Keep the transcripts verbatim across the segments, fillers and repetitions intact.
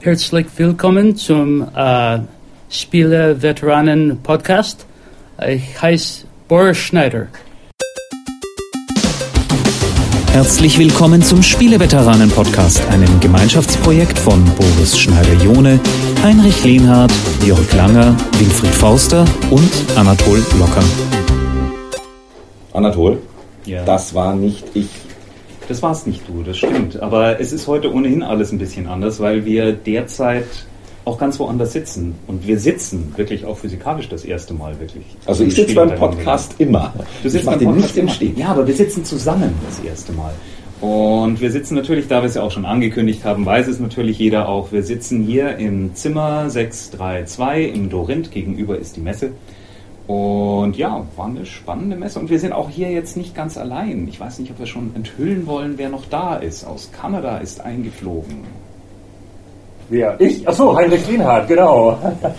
Herzlich willkommen zum äh, Spiele-Veteranen-Podcast. Ich heiße Boris Schneider. Herzlich willkommen zum Spiele-Veteranen-Podcast, einem Gemeinschaftsprojekt von Boris Schneider-Jone, Heinrich Lehnhardt, Jörg Langer, Winfried Forster und Anatol Locker. Anatol, ja. Das war nicht ich. Das war's nicht du, das stimmt. Aber es ist heute ohnehin alles ein bisschen anders, weil wir derzeit auch ganz woanders sitzen. Und wir sitzen wirklich auch physikalisch das erste Mal wirklich. Also ich sitze beim Podcast immer. Du sitzt beim Podcast nicht im Stehen. Ja, aber wir sitzen zusammen das erste Mal. Und wir sitzen natürlich, da wir es ja auch schon angekündigt haben, weiß es natürlich jeder auch, wir sitzen hier im Zimmer sechs drei zwei im Dorinth, gegenüber ist die Messe. Und ja, war eine spannende Messe. Und wir sind auch hier jetzt nicht ganz allein. Ich weiß nicht, ob wir schon enthüllen wollen, wer noch da ist. Aus Kanada ist eingeflogen. Wer? Ich? Achso, Heinrich Lehnhardt, genau.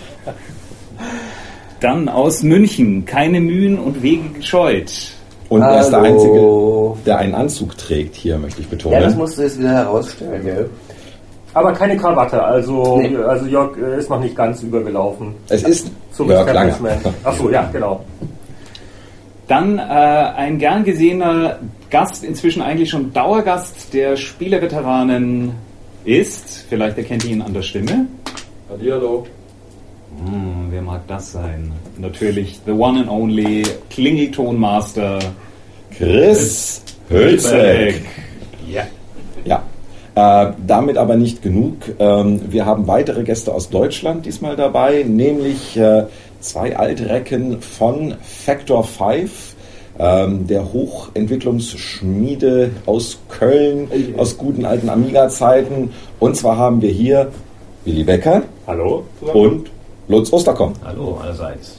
Dann aus München, keine Mühen und Wege gescheut. Und er ist der Einzige, der einen Anzug trägt hier, möchte ich betonen. Ja, das musst du jetzt wieder herausstellen, gell? Aber keine Krawatte, also, nee. also Jörg ist noch nicht ganz übergelaufen. Es ist zum Jörg Langer. Achso, ja, genau. Dann äh, ein gern gesehener Gast, inzwischen eigentlich schon Dauergast der Spieleveteranen ist, vielleicht erkennt ihr ihn an der Stimme. Hallihallo. Hm, wer mag das sein? Natürlich the one and only Klingeltonmaster Chris Hülsbeck. Ja. Ja. Äh, damit aber nicht genug. Ähm, wir haben weitere Gäste aus Deutschland diesmal dabei, nämlich äh, zwei Altrecken von Factor fünf, ähm, der Hochentwicklungsschmiede aus Köln, aus guten alten Amiga-Zeiten. Und zwar haben wir hier Willi Becker. Hallo. Und Lutz Osterkomm. Hallo allerseits.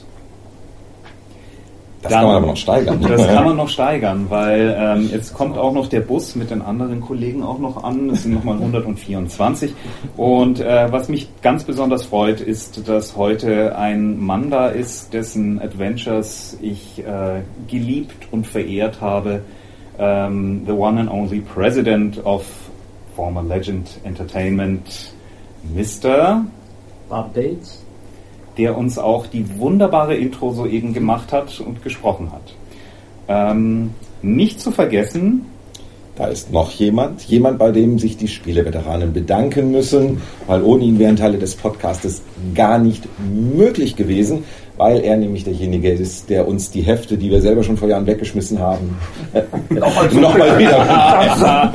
Das Dann, kann man aber noch steigern. Das kann man noch steigern, weil ähm, jetzt kommt auch noch der Bus mit den anderen Kollegen auch noch an. Es sind nochmal hundertvierundzwanzig. Und äh, was mich ganz besonders freut, ist, dass heute ein Mann da ist, dessen Adventures ich äh, geliebt und verehrt habe. Ähm, the one and only President of former Legend Entertainment, Mister Updates. Der uns auch die wunderbare Intro soeben gemacht hat und gesprochen hat. Ähm, nicht zu vergessen... Da ist noch jemand, jemand, bei dem sich die Spieleveteranen bedanken müssen, weil ohne ihn wären Teile des Podcastes gar nicht möglich gewesen, weil er nämlich derjenige ist, der uns die Hefte, die wir selber schon vor Jahren weggeschmissen haben, nochmal wieder,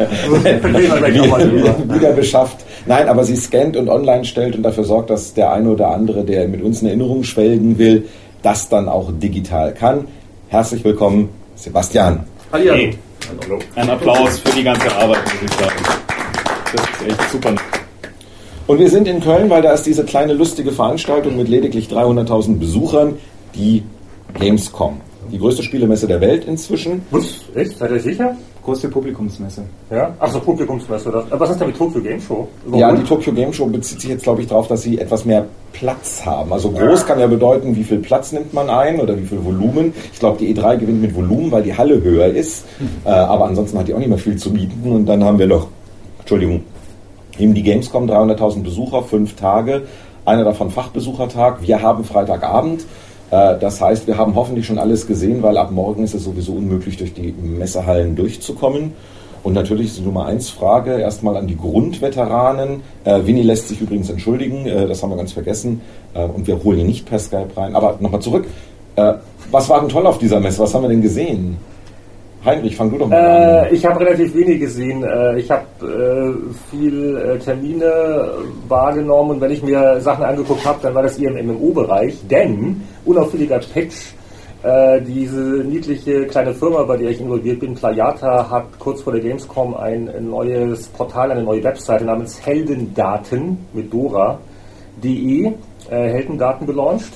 wieder, wieder beschafft. Nein, aber sie scannt und online stellt und dafür sorgt, dass der eine oder andere, der mit uns in Erinnerung schwelgen will, das dann auch digital kann. Herzlich willkommen, Sebastian. Hallo. Hey. Hallo. Ein Applaus für die ganze Arbeit, muss ich sagen. Das ist echt super. Und wir sind in Köln, weil da ist diese kleine lustige Veranstaltung mit lediglich dreihunderttausend Besuchern, die Gamescom. Die größte Spielemesse der Welt inzwischen. Was? Echt? Seid ihr sicher? Größte Publikumsmesse. Ja? Ach so, Publikumsmesse. Das. Was ist denn mit Tokyo Game Show? Warum? Ja, die Tokyo Game Show bezieht sich jetzt, glaube ich, darauf, dass sie etwas mehr Platz haben. Also groß kann ja bedeuten, wie viel Platz nimmt man ein oder wie viel Volumen. Ich glaube, die E drei gewinnt mit Volumen, weil die Halle höher ist. Äh, aber ansonsten hat die auch nicht mehr viel zu bieten. Und dann haben wir noch, Entschuldigung, eben die Gamescom, dreihunderttausend Besucher, fünf Tage. Einer davon Fachbesuchertag. Wir haben Freitagabend. Das heißt, wir haben hoffentlich schon alles gesehen, weil ab morgen ist es sowieso unmöglich, durch die Messehallen durchzukommen. Und natürlich ist die Nummer eins Frage erstmal an die Grundveteranen. Äh, Winnie lässt sich übrigens entschuldigen, äh, das haben wir ganz vergessen. Äh, und wir holen ihn nicht per Skype rein. Aber nochmal zurück. Äh, was war denn toll auf dieser Messe? Was haben wir denn gesehen? Heinrich, fang du doch mal äh, an. Ich habe relativ wenig gesehen. Äh, ich habe äh, viel äh, Termine wahrgenommen und wenn ich mir Sachen angeguckt habe, dann war das eher im M M O-Bereich, denn unauffälliger Patch, äh, diese niedliche kleine Firma, bei der ich involviert bin, Playata, hat kurz vor der Gamescom ein neues Portal, eine neue Webseite namens Heldendaten mit Dora punkt de, äh, Heldendaten gelauncht.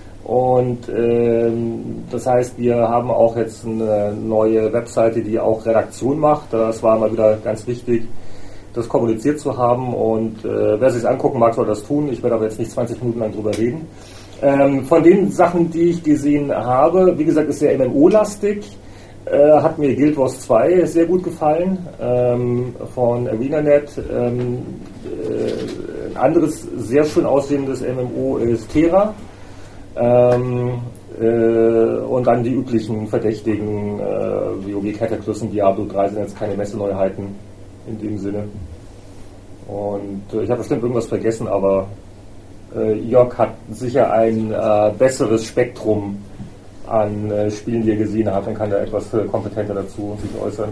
Und ähm, das heißt, wir haben auch jetzt eine neue Webseite, die auch Redaktion macht. Das war mal wieder ganz wichtig, das kommuniziert zu haben. Und äh, wer sich angucken mag, soll das tun. Ich werde aber jetzt nicht zwanzig Minuten lang drüber reden. Ähm, von den Sachen, die ich gesehen habe, wie gesagt, ist sehr M M O-lastig. Äh, hat mir Guild Wars zwei sehr gut gefallen, ähm, von ArenaNet. Ähm, äh, ein anderes sehr schön aussehendes M M O ist Terra. Ähm, äh, und dann die üblichen Verdächtigen, äh, WoW Cataclysm, Diablo drei sind jetzt keine Messeneuheiten in dem Sinne. Und äh, ich habe bestimmt irgendwas vergessen, aber äh, Jörg hat sicher ein äh, besseres Spektrum an äh, Spielen, die er gesehen hat, und kann da etwas äh, kompetenter dazu sich äußern.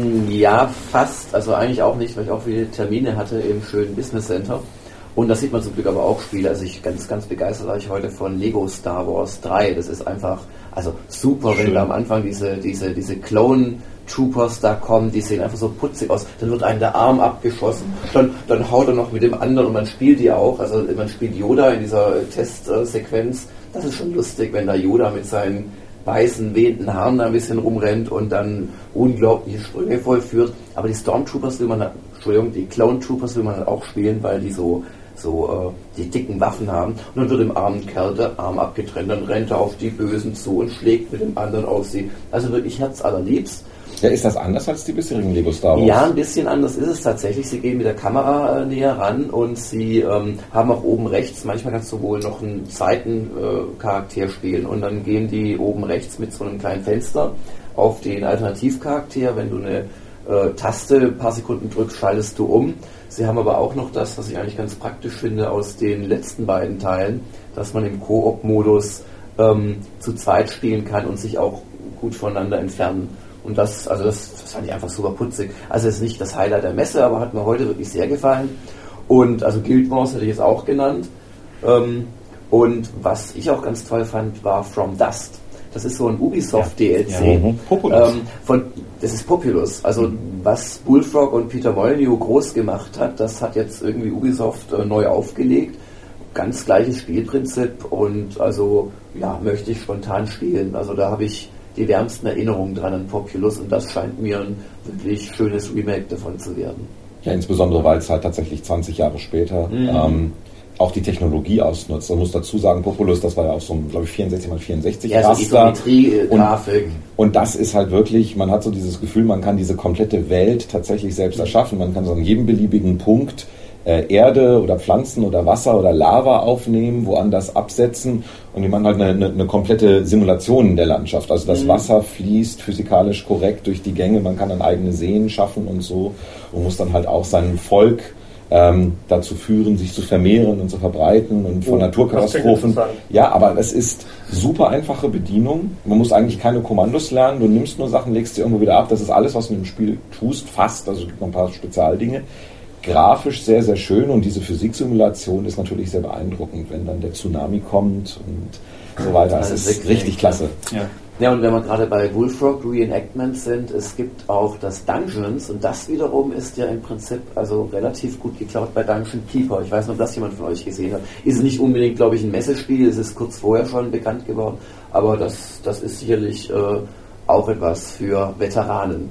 Ja, fast. Also eigentlich auch nicht, weil ich auch viele Termine hatte im schönen Business Center. Und da sieht man zum Glück aber auch Spiele. Also ich ganz, ganz begeistert war ich heute von Lego Star Wars drei. Das ist einfach, also super, Schön. Wenn da am Anfang diese, diese, diese Clone Troopers da kommen, die sehen einfach so putzig aus. Dann wird einem der Arm abgeschossen, dann, dann haut er noch mit dem anderen und man spielt die auch. Also man spielt Yoda in dieser Testsequenz. Das ist schon lustig, wenn da Yoda mit seinen weißen, wehenden Haaren da ein bisschen rumrennt und dann unglaubliche Sprünge vollführt. Aber die Stormtroopers will man, Entschuldigung, die Clone Troopers will man dann auch spielen, weil die so so äh, die dicken Waffen haben. Und dann wird dem armen Kerl der Arm abgetrennt, dann rennt er auf die Bösen zu und schlägt mit dem anderen auf sie. Also wirklich herzallerliebst. Ja, ist das anders als die bisherigen Lego Star Wars? Ja, ein bisschen anders ist es tatsächlich. Sie gehen mit der Kamera äh, näher ran und sie ähm, haben auch oben rechts, manchmal kannst du wohl noch einen Seitencharakter äh, spielen und dann gehen die oben rechts mit so einem kleinen Fenster auf den Alternativcharakter. Wenn du eine äh, Taste ein paar Sekunden drückst, schaltest du um. Sie haben aber auch noch das, was ich eigentlich ganz praktisch finde aus den letzten beiden Teilen, dass man im Koop-Modus ähm, zu zweit spielen kann und sich auch gut voneinander entfernen. Und das, also das, das fand ich einfach super putzig. Also es ist nicht das Highlight der Messe, aber hat mir heute wirklich sehr gefallen. Und also Guild Wars hätte ich jetzt auch genannt. Ähm, und was ich auch ganz toll fand, war From Dust. Das ist so ein Ubisoft-D L C. Ja, mhm. Populous. Ähm, von, das ist Populous. Also was Bullfrog und Peter Molyneux groß gemacht hat, das hat jetzt irgendwie Ubisoft äh, neu aufgelegt. Ganz gleiches Spielprinzip und also ja, möchte ich spontan spielen. Also da habe ich die wärmsten Erinnerungen dran an Populous und das scheint mir ein wirklich schönes Remake davon zu werden. Ja, insbesondere weil es halt tatsächlich zwanzig Jahre später mhm. ähm, auch die Technologie ausnutzt. Man muss dazu sagen, Populous, das war ja auch so ein, glaube ich, vierundsechzig mal vierundsechzig ja, Raster. So Isometrie-Grafik. Und, und das ist halt wirklich, man hat so dieses Gefühl, man kann diese komplette Welt tatsächlich selbst erschaffen. Man kann so an jedem beliebigen Punkt äh, Erde oder Pflanzen oder Wasser oder Lava aufnehmen, woanders absetzen und die machen halt eine, eine, eine komplette Simulation der Landschaft. Also das mhm. Wasser fließt physikalisch korrekt durch die Gänge, man kann dann eigene Seen schaffen und so und muss dann halt auch sein Volk Ähm, dazu führen, sich zu vermehren und zu verbreiten und von oh, Naturkatastrophen. Ja, aber es ist super einfache Bedienung. Man muss eigentlich keine Kommandos lernen. Du nimmst nur Sachen, legst sie irgendwo wieder ab. Das ist alles, was du im Spiel tust, fast. Also es gibt noch ein paar Spezialdinge. Grafisch sehr, sehr schön und diese Physiksimulation ist natürlich sehr beeindruckend, wenn dann der Tsunami kommt und so weiter. Es ist richtig, richtig klasse. Ja. Ja, und wenn wir gerade bei Bullfrog Reenactments sind, es gibt auch das Dungeons und das wiederum ist ja im Prinzip also relativ gut geklaut bei Dungeon Keeper. Ich weiß nicht, ob das jemand von euch gesehen hat. Ist nicht unbedingt, glaube ich, ein Messespiel, es ist kurz vorher schon bekannt geworden, aber das, das ist sicherlich äh, auch etwas für Veteranen.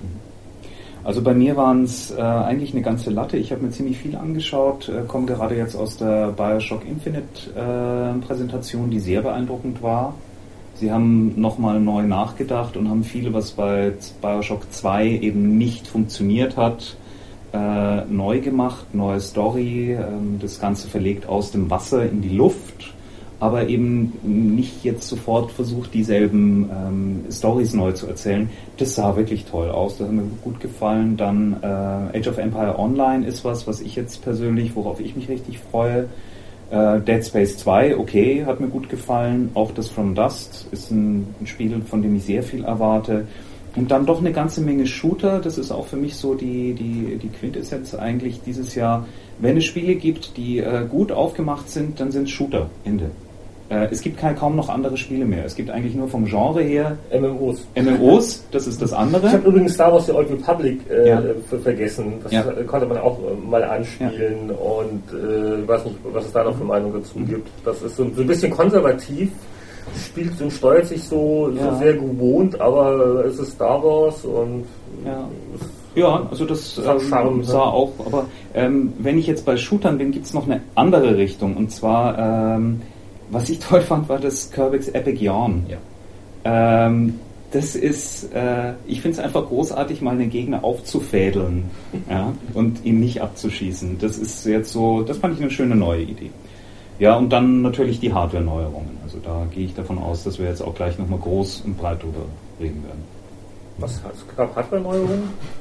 Also bei mir waren es äh, eigentlich eine ganze Latte. Ich habe mir ziemlich viel angeschaut, äh, komme gerade jetzt aus der Bioshock Infinite äh, Präsentation, die sehr beeindruckend war. Sie haben nochmal neu nachgedacht und haben viel, was bei Bioshock zwei eben nicht funktioniert hat, äh, neu gemacht, neue Story, äh, das Ganze verlegt aus dem Wasser in die Luft, aber eben nicht jetzt sofort versucht, dieselben ähm, Storys neu zu erzählen. Das sah wirklich toll aus, das hat mir gut gefallen. Dann äh, Age of Empire Online ist was, was ich jetzt persönlich, worauf ich mich richtig freue. Uh, Dead Space zwei, okay, hat mir gut gefallen. Auch das From Dust ist ein, ein Spiel, von dem ich sehr viel erwarte. Und dann doch eine ganze Menge Shooter. Das ist auch für mich so die, die, die Quintessenz eigentlich dieses Jahr. Wenn es Spiele gibt, die uh, gut aufgemacht sind, dann sind es Shooter. Ende. Uh, es gibt kein, kaum noch andere Spiele mehr. Es gibt eigentlich nur vom Genre her M M Os. M M Os, das ist das andere. Ich habe übrigens Star Wars The Old Republic äh, ja. vergessen. Das ja. konnte man auch äh, mal anspielen ja. und äh, ich weiß nicht, was es da noch für Meinung dazu mhm. gibt. Das ist so, so ein bisschen konservativ, spielt und steuert sich so, ja. so sehr gewohnt, aber es ist Star Wars und ja. Ja, also das ähm, Charme, sah auch, aber ähm, wenn ich jetzt bei Shootern bin, gibt es noch eine andere Richtung und zwar ähm, was ich toll fand, war das Kerbix Epic Yarn. Ja. Ähm, das ist, äh, ich finde es einfach großartig, mal einen Gegner aufzufädeln, ja, und ihn nicht abzuschießen. Das ist jetzt so, das fand ich eine schöne neue Idee. Ja, und dann natürlich die Hardware-Neuerungen. Also da gehe ich davon aus, dass wir jetzt auch gleich nochmal groß und breit drüber reden werden. Was gab Hardware-Neuerungen?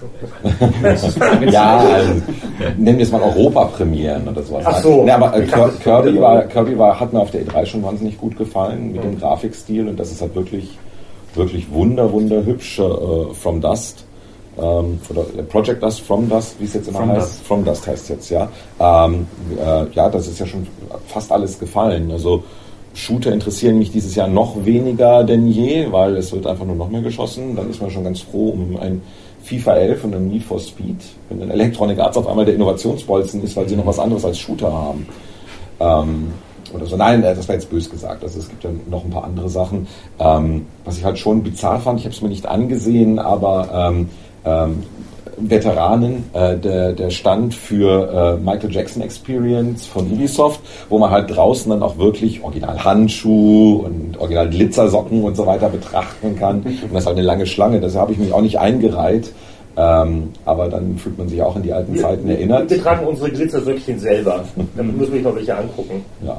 Ja, also, nennen wir es mal Europapremieren oder sowas. Ach so. Nee, aber äh, Ich dachte, Kirby, war, Kirby war, hat mir auf der E drei schon wahnsinnig gut gefallen mit dem Grafikstil und das ist halt wirklich, wirklich wunder, wunderhübsch. Äh, From Dust. Ähm, oder Project Dust, From Dust, wie es jetzt immer From heißt. Dust. From Dust heißt es jetzt, ja. Ähm, äh, ja, das ist ja schon fast alles gefallen. Also Shooter interessieren mich dieses Jahr noch weniger denn je, weil es wird einfach nur noch mehr geschossen. Dann ist man schon ganz froh um ein FIFA elf und ein Need for Speed, wenn dann Electronic Arts auf einmal der Innovationsbolzen ist, weil sie noch was anderes als Shooter haben. Ähm, oder so. Nein, das war jetzt böse gesagt. Also es gibt ja noch ein paar andere Sachen. Ähm, was ich halt schon bizarr fand, ich habe es mir nicht angesehen, aber ähm, ähm, Veteranen, äh, der, der Stand für äh, Michael Jackson Experience von Ubisoft, wo man halt draußen dann auch wirklich original Handschuh und original Glitzersocken und so weiter betrachten kann. Und das ist halt eine lange Schlange, deshalb habe ich mich auch nicht eingereiht. Ähm, aber dann fühlt man sich auch an die alten wir, Zeiten wir, erinnert. Wir tragen unsere Glitzersäckchen selber. Damit müssen wir noch welche angucken. Ja.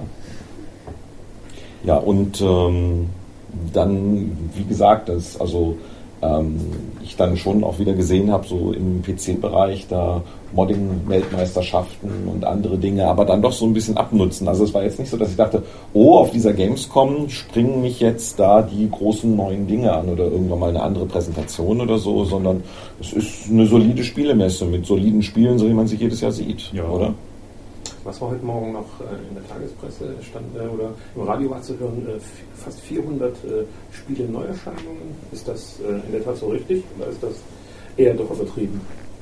Ja, und ähm, dann, wie gesagt, das, also ähm, ich dann schon auch wieder gesehen habe, so im P C-Bereich, da Modding-Weltmeisterschaften und andere Dinge, aber dann doch so ein bisschen abnutzen. Also es war jetzt nicht so, dass ich dachte, oh, auf dieser Gamescom springen mich jetzt da die großen neuen Dinge an oder irgendwann mal eine andere Präsentation oder so, sondern es ist eine solide Spielemesse mit soliden Spielen, so wie man sie jedes Jahr sieht, ja. Oder? Was war heute Morgen noch in der Tagespresse stand äh, oder im Radio war zu hören, äh, fast vierhundert äh, Spiele Neuerscheinungen. Ist das äh, in der Tat so richtig oder ist das eher doch übertrieben?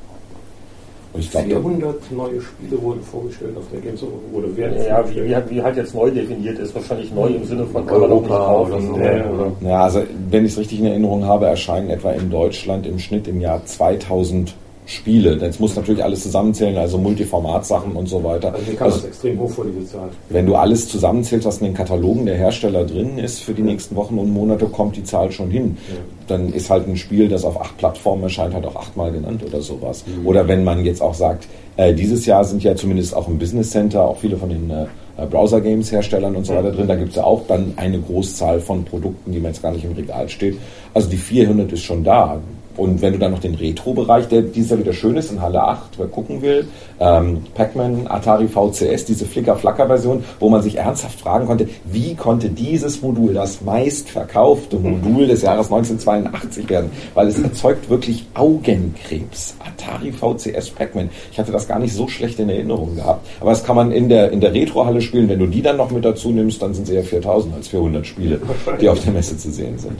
Ich glaub, vierhundert neue Spiele wurden vorgestellt auf der Games oder werden Ja, wie, wie, halt, wie halt jetzt neu definiert ist, wahrscheinlich neu im Sinne von kann man doch nicht kaufen. oder so. Ja, oder? Ja, also wenn ich es richtig in Erinnerung habe, erscheinen etwa in Deutschland im Schnitt im Jahr zweitausend Spiele. Jetzt muss natürlich alles zusammenzählen, also Multiformat-Sachen und so weiter. Also hier kam also, das extrem hoch vor, diese Zahl. Wenn du alles zusammenzählst, was in den Katalogen der Hersteller drin ist, für die nächsten Wochen und Monate kommt die Zahl schon hin. Ja. Dann ist halt ein Spiel, das auf acht Plattformen erscheint, halt auch achtmal genannt oder sowas. Mhm. Oder wenn man jetzt auch sagt, äh, dieses Jahr sind ja zumindest auch im Business Center auch viele von den äh, Browser-Games-Herstellern und so weiter drin. Da gibt es ja auch dann eine Großzahl von Produkten, die man jetzt gar nicht im Regal steht. Also die vierhundert ist schon da. Und wenn du dann noch den Retro-Bereich, der dieses Jahr wieder schön ist, in Halle acht, wer gucken will, ähm, Pac-Man, Atari V C S, diese Flicker-Flacker-Version, wo man sich ernsthaft fragen konnte, wie konnte dieses Modul das meistverkaufte Modul des Jahres neunzehnhundertzweiundachtzig werden? Weil es erzeugt wirklich Augenkrebs. Atari V C S Pac-Man. Ich hatte das gar nicht so schlecht in Erinnerung gehabt. Aber das kann man in der, in der Retro-Halle spielen. Wenn du die dann noch mit dazu nimmst, dann sind es eher viertausend als vierhundert Spiele, die auf der Messe zu sehen sind.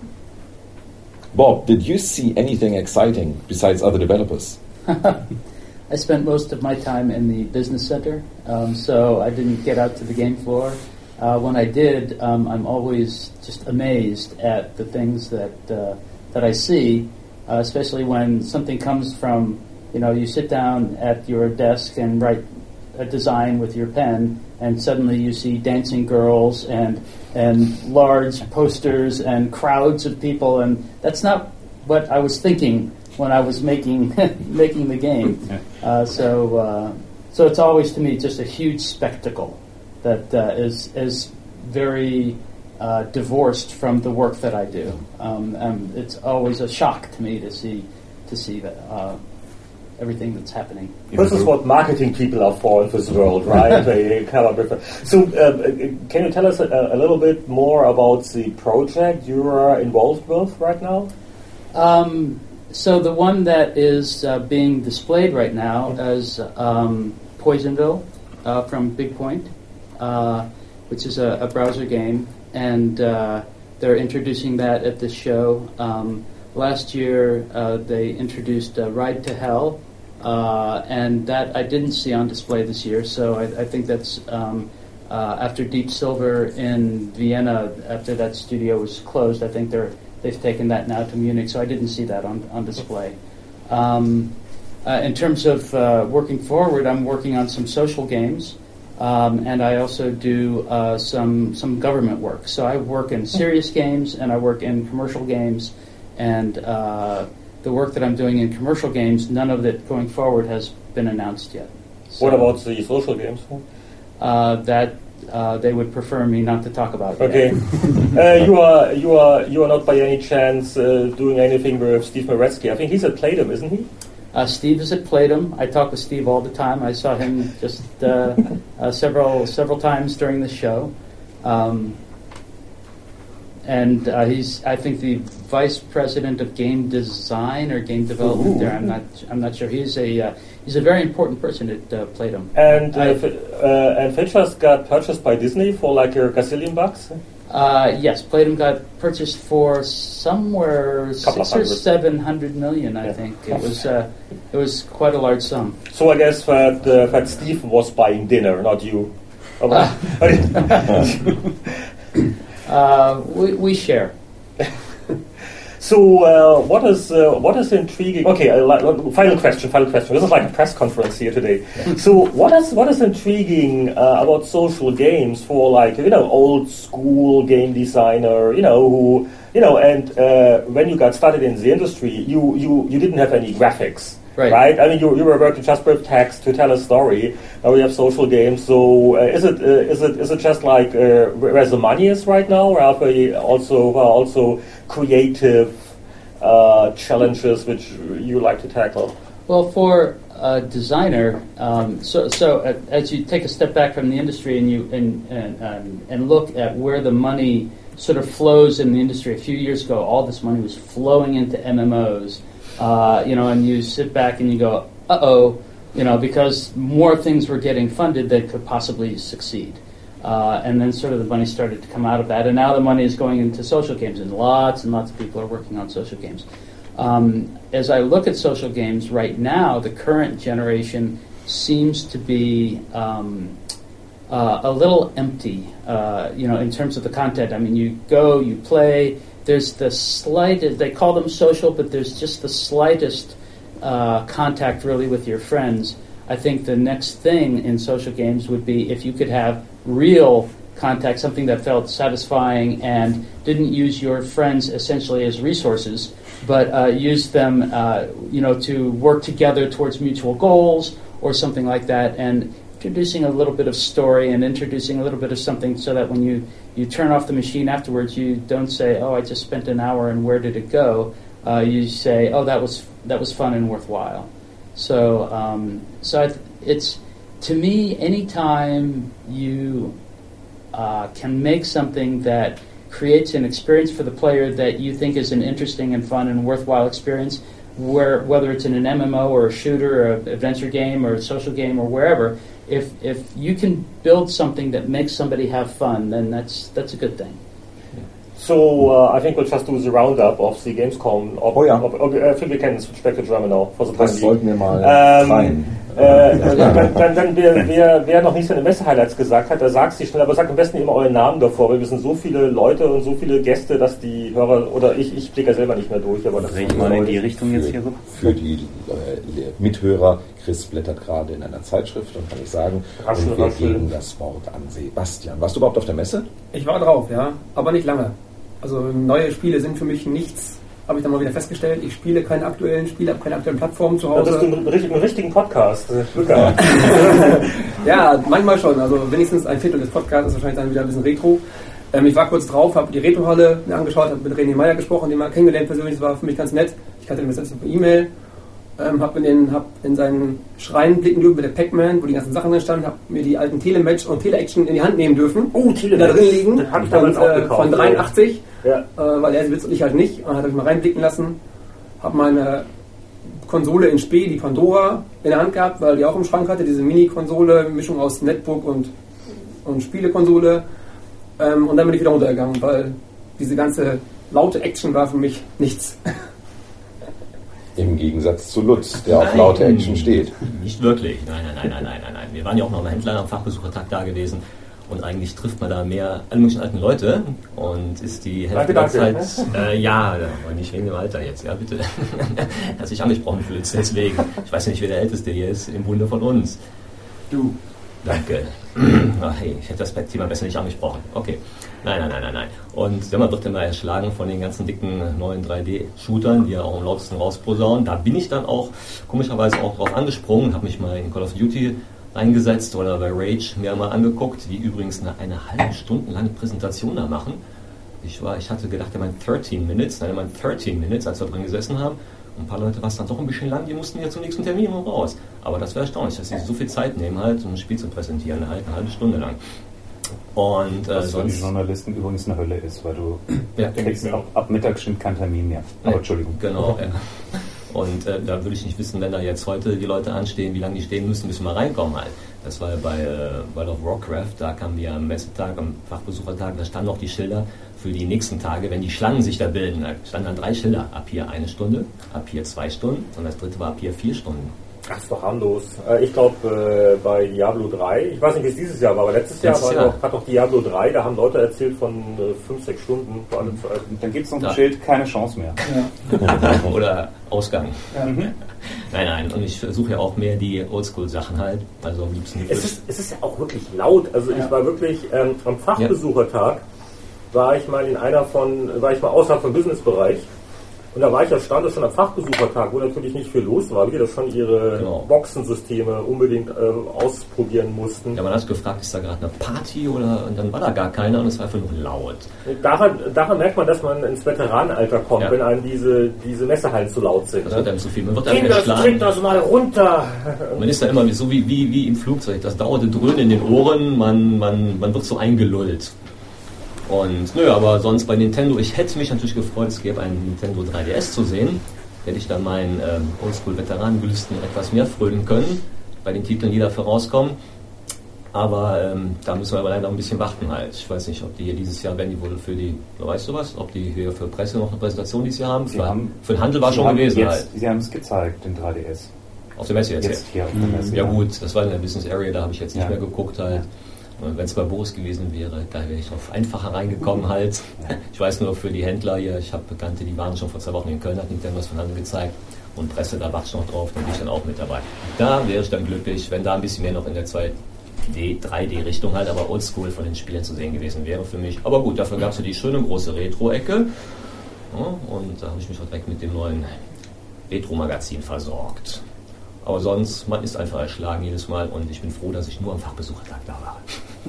Bob, did you see anything exciting besides other developers? I spent most of my time in the business center, um, so I didn't get out to the game floor. Uh, when I did, um, I'm always just amazed at the things that uh, that I see, uh, especially when something comes from, you know, you sit down at your desk and write a design with your pen, and suddenly you see dancing girls and and large posters and crowds of people, and that's not what I was thinking when I was making making the game. Uh, so uh, so it's always to me just a huge spectacle that uh, is is very uh, divorced from the work that I do. Um, and it's always a shock to me to see to see that. Uh, everything that's happening. This is what marketing people are for in this world, right? They come up with it. So, uh, can you tell us a, a little bit more about the project you are involved with right now? Um, so the one that is uh, being displayed right now is um, Poisonville uh, from Big Point, uh, which is a, a browser game, and uh, they're introducing that at this show. Um, last year, uh, they introduced uh, Ride to Hell, Uh, and that I didn't see on display this year, so I, I think that's um, uh, after Deep Silver in Vienna, after that studio was closed, I think they're, they've taken that now to Munich, so I didn't see that on, on display. Um, uh, in terms of uh, working forward, I'm working on some social games. Um, and I also do uh, some some government work. So I work in serious games and I work in commercial games. And uh, the work that I'm doing in commercial games, none of it going forward has been announced yet. So, what about the social games? Uh, that uh, they would prefer me not to talk about. Okay. uh, you are you are you are not by any chance uh, doing anything with Steve Maretsky? I think he's at Playdom, isn't he? Uh, Steve is at Playdom. I talk with Steve all the time. I saw him just uh, uh, several several times during the show, um, and uh, he's I think the vice president of game design or game development. Ooh. There, I'm not I'm not sure. He's a uh, he's a very important person at uh, Playdom. And uh, f- uh, and Features got purchased by Disney for like a gazillion bucks. Uh, yes, Playdom got purchased for somewhere six or seven hundred million. I yeah. think it was. Uh, it was quite a large sum. So I guess that uh, that Steve was buying dinner, not you. Uh, uh, we, we share. So uh, what is uh, what is intriguing? Okay, uh, final question. Final question. This is like a press conference here today. Yeah. So what is what is intriguing uh, about social games for like you know old school game designer? You know who you know and uh, when you got started in the industry, you you, you didn't have any graphics. Right. right. I mean, you you were working just with text to tell a story. Now we have social games. So uh, is it uh, is it is it just like uh, where the money is right now, or are we also well, also creative uh, challenges which you like to tackle? Well, for a designer, um, so so uh, as you take a step back from the industry and you and and um, and look at where the money sort of flows in the industry. A few years ago, all this money was flowing into M M Os. Uh, you know, and you sit back and you go, uh-oh, you know, because more things were getting funded that could possibly succeed. Uh, and then sort of the money started to come out of that. And now the money is going into social games, and lots and lots of people are working on social games. Um, as I look at social games right now, the current generation seems to be um, uh, a little empty, uh, you know, in terms of the content. I mean, you go, you play. There's the slightest, they call them social, but there's just the slightest uh, contact really with your friends. I think the next thing in social games would be if you could have real contact, something that felt satisfying and didn't use your friends essentially as resources, but uh, use them, uh, you know, to work together towards mutual goals or something like that, and introducing a little bit of story and introducing a little bit of something so that when you, you turn off the machine afterwards, you don't say, oh, I just spent an hour and where did it go? Uh, you say, oh, that was that was fun and worthwhile. So, um, so I th- it's, to me, anytime you uh, can make something that creates an experience for the player that you think is an interesting and fun and worthwhile experience, where whether it's in an M M O or a shooter or an adventure game or a social game or wherever, if if you can build something that makes somebody have fun, then that's that's a good thing. So uh, I think we'll just do the roundup of the Gamescom. Ob, oh ja. Ob, ob, I think we can switch back to German now. For the das sollten wir mal ähm, rein. Äh, dann, dann, dann wer, wer, wer noch nicht seine Messe-Highlights gesagt hat, der sagt sie schnell, aber sagt am besten immer euren Namen davor, weil wir sind so viele Leute und so viele Gäste, dass die Hörer, oder ich, ich blicke ja selber nicht mehr durch. Aber das Dreh ich mal in die Richtung jetzt hier so. Für die äh, Mithörer, Chris blättert gerade in einer Zeitschrift und kann ich sagen, raschel, und wir raschel. geben das Wort an Sebastian. Warst du überhaupt auf der Messe? Ich war drauf, ja, aber nicht lange. Also neue Spiele sind für mich nichts, habe ich dann mal wieder festgestellt. Ich spiele keine aktuellen Spiele, habe keine aktuellen Plattformen zu Hause. Das ist ein, ein, ein richtigen Podcast. Ja, manchmal schon. Also wenigstens ein Viertel des Podcasts ist wahrscheinlich dann wieder ein bisschen Retro. Ähm, ich war kurz drauf, habe die Retrohalle mir angeschaut, habe mit René Meyer gesprochen, den mal kennengelernt persönlich. Das war für mich ganz nett. Ich kannte ihn bis jetzt per E-Mail. Ähm, habe in, den, hab in seinen Schrein blicken dürfen mit der Pac-Man, wo die ganzen Sachen drin standen, habe mir die alten Telematch und Tele-Action in die Hand nehmen dürfen. Oh, Telematch. Da drin liegen. Das habe ich damals und, auch äh, gekauft. Von dreiundachtzig, ja. äh, weil er sie besitzt und ich halt nicht. Und dann habe ich mal reinblicken lassen. Habe meine Konsole in Spee, die Pandora, in der Hand gehabt, weil die auch im Schrank hatte. Diese Mini-Konsole, Mischung aus Netbook und, und Spielekonsole. Ähm, und dann bin ich wieder runtergegangen, weil diese ganze laute Action war für mich nichts. Im Gegensatz zu Lutz, der nein, auf laute Action steht. Nicht wirklich, nein, nein, nein, nein, nein, nein, nein. Wir waren ja auch noch am Händler am Fachbesuchertag da gewesen und eigentlich trifft man da mehr alle möglichen alten Leute und ist die Hälfte der Zeit, äh, ja, aber nicht wegen dem Alter jetzt, ja bitte. Hast dich angesprochen, Lutz, deswegen. Ich weiß ja nicht, wer der Älteste hier ist, im Bunde von uns. Du. Danke. Ach, hey, ich hätte das Thema besser nicht angesprochen. Okay. Nein, nein, nein, nein, nein. Und ja, man wird immer erschlagen von den ganzen dicken neuen drei D-Shootern, die ja auch am lautesten rausposaunen. Da bin ich dann auch komischerweise auch drauf angesprungen, habe mich mal in Call of Duty reingesetzt oder bei Rage mir mal angeguckt, die übrigens eine, eine halbe Stunde lange Präsentation da machen. Ich, war, ich hatte gedacht, er meint dreizehn Minutes, nein, er meint dreizehn Minutes, als wir drin gesessen haben. Und ein paar Leute war es dann doch ein bisschen lang, die mussten ja zum nächsten Termin noch raus. Aber das wäre erstaunlich, dass sie so viel Zeit nehmen, halt, um ein Spiel zu präsentieren, eine, eine halbe Stunde lang. Und, äh, was für die sonst, Journalisten übrigens eine Hölle ist, weil du ja, kriegst ab, ab Mittag stimmt kein Termin mehr. Aber nee, Entschuldigung. Genau, ja. Und äh, da würde ich nicht wissen, wenn da jetzt heute die Leute anstehen, wie lange die stehen müssen, bis wir mal reinkommen halt. Das war ja bei äh, World of Warcraft, da kamen wir am Messetag, am Fachbesuchertag, da standen noch die Schilder für die nächsten Tage, wenn die Schlangen sich da bilden. Da standen dann drei Schilder, ab hier eine Stunde, ab hier zwei Stunden und das dritte war ab hier vier Stunden. Ach, ist doch harmlos. Ich glaube, äh, bei Diablo drei, ich weiß nicht, wie es dieses Jahr war, aber letztes Jahr, letztes war Jahr. Doch, hat doch Diablo drei, da haben Leute erzählt von äh, fünf, sechs Stunden vor allem Zeit. Dann gibt es noch ein Ja. Schild, keine Chance mehr. Ja. Oder Ausgang. Ja. Nein, nein, und ich versuche ja auch mehr die Oldschool-Sachen halt, also am liebsten die Es ist, es ist ja auch wirklich laut. Also ich war wirklich ähm, am Fachbesuchertag, war ich mal in einer von, war ich mal außerhalb vom Businessbereich. Und da war ich ja stand schon am Fachbesuchertag, wo natürlich nicht viel los war, wie das schon ihre Genau. Boxensysteme unbedingt äh, ausprobieren mussten. Ja, man hat gefragt, ist da gerade eine Party oder, und dann war da gar keiner und es war einfach nur laut. Daran, daran merkt man, dass man ins Veteranenalter kommt, Ja. wenn einem diese, diese Messehallen zu laut sind. Das Ne? wird einem zu viel. Man wird einem Kinder, trink erschlagen. das mal runter! Man ist da immer so wie, wie, wie im Flugzeug. Das dauerte Dröhnen in den Ohren, man, man, man wird so eingelullt. Und nö, aber sonst bei Nintendo, ich hätte mich natürlich gefreut, es gäbe einen Nintendo drei D S zu sehen. Hätte ich dann meinen ähm, Oldschool-Veteranengelüsten etwas mehr frönen können, bei den Titeln, die dafür rauskommen. Aber ähm, da müssen wir aber leider ein bisschen warten halt. Ich weiß nicht, ob die hier dieses Jahr, werden die wohl für die, weißt du was, ob die hier für Presse noch eine Präsentation dieses Jahr haben? Sie Für, haben für den Handel war Sie schon haben gewesen jetzt, halt. Sie haben es gezeigt, den drei D S. Auf der Messe jetzt. Jetzt hier auf der Messe. Ja gut, das war in der Business Area, da habe ich jetzt nicht Ja. mehr geguckt halt. Und wenn es bei Boris gewesen wäre, da wäre ich auf einfacher reingekommen halt. Ich weiß nur für die Händler hier, ich habe Bekannte, die waren schon vor zwei Wochen in Köln, hat Nintendo was von Handel gezeigt. Und Presse, da warte ich noch drauf, dann bin ich dann auch mit dabei. Da wäre ich dann glücklich, wenn da ein bisschen mehr noch in der zwei D, drei D-Richtung halt, aber oldschool von den Spielen zu sehen gewesen wäre für mich. Aber gut, dafür gab es ja die schöne große Retro-Ecke. Ja, und da habe ich mich auch direkt mit dem neuen Retro-Magazin versorgt. Aber sonst, man ist einfach erschlagen jedes Mal und ich bin froh, dass ich nur am Fachbesuchertag da war.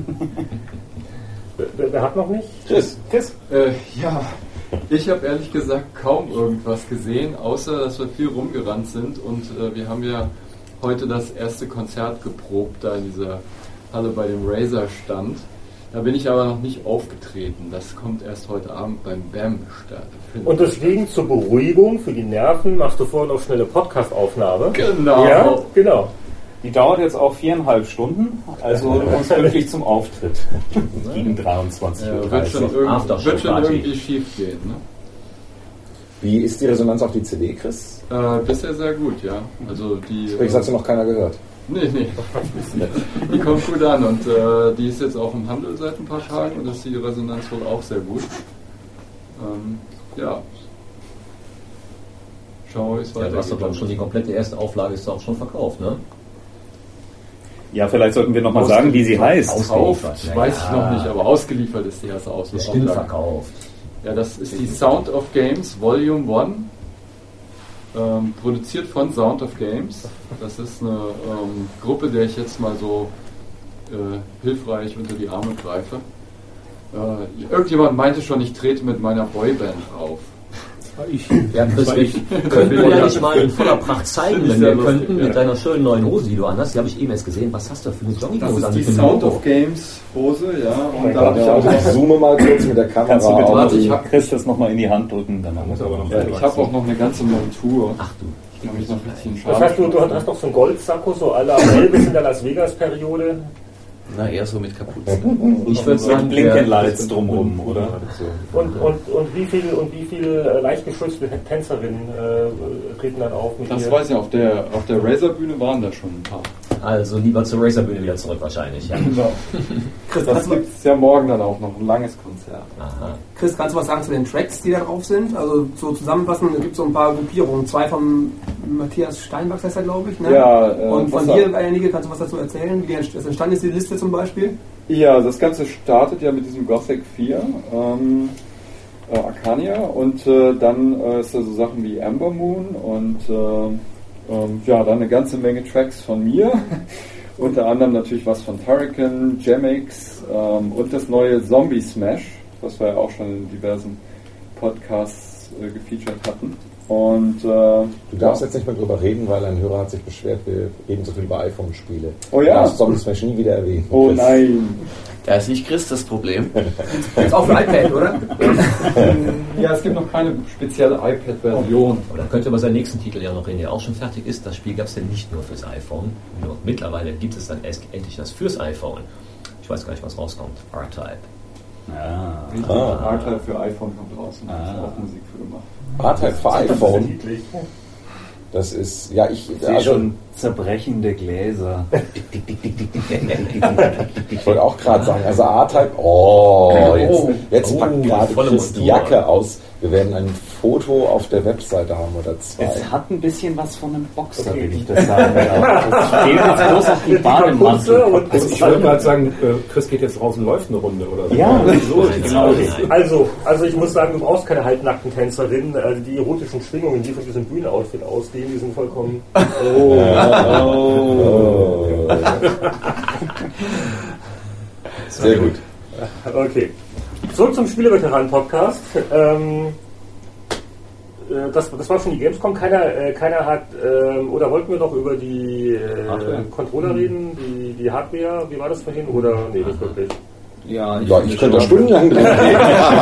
Wer, wer hat noch nicht? Chris. Chris? Äh, ja, ich habe ehrlich gesagt kaum irgendwas gesehen, außer dass wir viel rumgerannt sind und äh, wir haben ja heute das erste Konzert geprobt, da in dieser Halle bei dem Razer-Stand. Da bin ich aber noch nicht aufgetreten. Das kommt erst heute Abend beim B A M statt. Und deswegen zur Beruhigung für die Nerven machst du vorher noch schnelle Podcast-Aufnahme. Genau. Ja, genau. Die dauert jetzt auch viereinhalb Stunden, also du kommst wirklich zum Auftritt gegen dreiundzwanzig Uhr Ja, wird dreißig. schon, irgend, Aftershow wird schon Party. irgendwie schief gehen. Ne? Wie ist die Resonanz auf die C D, Chris? Äh, bisher sehr gut, ja. Also die. Übrigens hat sie noch keiner gehört. Nee, nee. Die kommt gut an und äh, die ist jetzt auch im Handel seit ein paar Tagen und das ist die Resonanz wohl auch sehr gut. Ähm, ja. Schauen wir, wie es Ja, du hast doch, glaube ich, schon die komplette erste Auflage ist auch schon verkauft, ne? Ja, vielleicht sollten wir nochmal sagen, wie sie heißt. Verkauft, Ja, weiß ja. ich noch nicht, aber ausgeliefert ist die erste Aus- Bestimmt Auflage. verkauft. Ja, das ist die Sound of Games Volume eins. Ähm, produziert von Sound of Games. Das ist eine ähm, Gruppe, der ich jetzt mal so äh, hilfreich unter die Arme greife. Äh, irgendjemand meinte schon, ich trete mit meiner Boyband auf. Ich, Ja, Chris, wir könnten wir ja nicht mal in voller Pracht zeigen, Finde ich wenn sehr wir lustig, könnten, ja. mit deiner schönen neuen Hose, die du anhast. Die habe ich eben erst gesehen. Was hast du für eine Das Jogginghose ist an? die mit dem Sound Logo? of Games Hose, ja. Und da Ja, habe ich auch ich zoome mal kurz mit der Kamera Kannst du bitte auf. Warte, die- ich hab- Chris das nochmal in die Hand drücken? Dann machen wir es aber noch. Ja, ich habe auch noch eine ganze Montur. Ach du. Ich habe mich noch ein bisschen Das scharf. heißt, du, du hast doch so einen Goldsacko, so à la Elvis in der Las Vegas-Periode. Na, eher so mit Kapuzen. Ich würde sagen, Blinken der, Lights drumrum, oder? Und, und, und wie viele und wie viel äh, leicht geschützte Tänzerinnen äh, treten dann auf mit Das dir? weiß ich, auf der, auf der Razer-Bühne waren da schon ein paar. Also lieber zur Racerbühne wieder zurück wahrscheinlich. Ja. Genau. Chris, das gibt es ja morgen dann auch noch, ein langes Konzert. Aha. Chris, kannst du was sagen zu den Tracks, die da drauf sind? Also so zusammenfassen, es gibt so ein paar Gruppierungen. Zwei vom Matthias Steinbach, heißt er, glaube ich. Ne? Ja, äh, und von dir einige, kannst du was dazu erzählen? Wie das entstanden ist, die Liste zum Beispiel? Ja, das Ganze startet ja mit diesem Gothic vier, ähm, äh, Arcania, und äh, dann äh, ist da so Sachen wie Amber Moon und äh, ähm, ja, dann eine ganze Menge Tracks von mir. Unter anderem natürlich was von Turrican, Gemix ähm, und das neue Zombie Smash, was wir ja auch schon in diversen Podcasts äh, gefeatured hatten. Und, äh, du darfst ja jetzt nicht mehr drüber reden, weil ein Hörer hat sich beschwert, wir reden so viel über iPhone-Spiele. Oh ja? Du darfst Zombie Smash nie wieder erwähnen. Oh Chris. Nein. Da ist nicht Chris das Problem. Jetzt auch für iPad, oder? Ja, es gibt noch keine spezielle iPad-Version. Oder könnte über seinen nächsten Titel ja noch reden, der auch schon fertig ist. Das Spiel gab es ja nicht nur fürs iPhone. Nur mittlerweile gibt es dann erst endlich das fürs iPhone. Ich weiß gar nicht, was rauskommt. R-Type. Ah. Ah. R-Type für iPhone kommt raus und da ist auch Musik für gemacht. R-Type für iPhone? Das ist, ja, ich... Ich sehe also, schon zerbrechende Gläser. Ich wollte auch gerade sagen, also R-Type, oh, jetzt, jetzt oh, packt gerade Chris die Jacke aus. Wir werden ein Foto auf der Webseite haben oder zwei. Es hat ein bisschen was von einem Boxer, okay. Wenn ich das sagen darf. Das fehlt jetzt bloß auf die Bademantel. Also ich wollte gerade sagen, Chris geht jetzt raus und läuft eine Runde oder so. Ja, so genau. Also, also ich muss sagen, du brauchst keine halbnackten Tänzerinnen. Also die erotischen Schwingungen, die von diesem Bühnenoutfit ausgehen, die sind vollkommen... Oh. Oh. Sehr gut. Okay. Zurück zum Spieleveteranen-Podcast. Ähm, das, das war schon die Gamescom. Keiner, äh, keiner hat, äh, oder wollten wir noch über die äh, Controller reden, die, die Hardware? Wie war das vorhin? Oder, nee, nicht wirklich. Ja, ich, ja, ich könnte da stundenlang drin reden.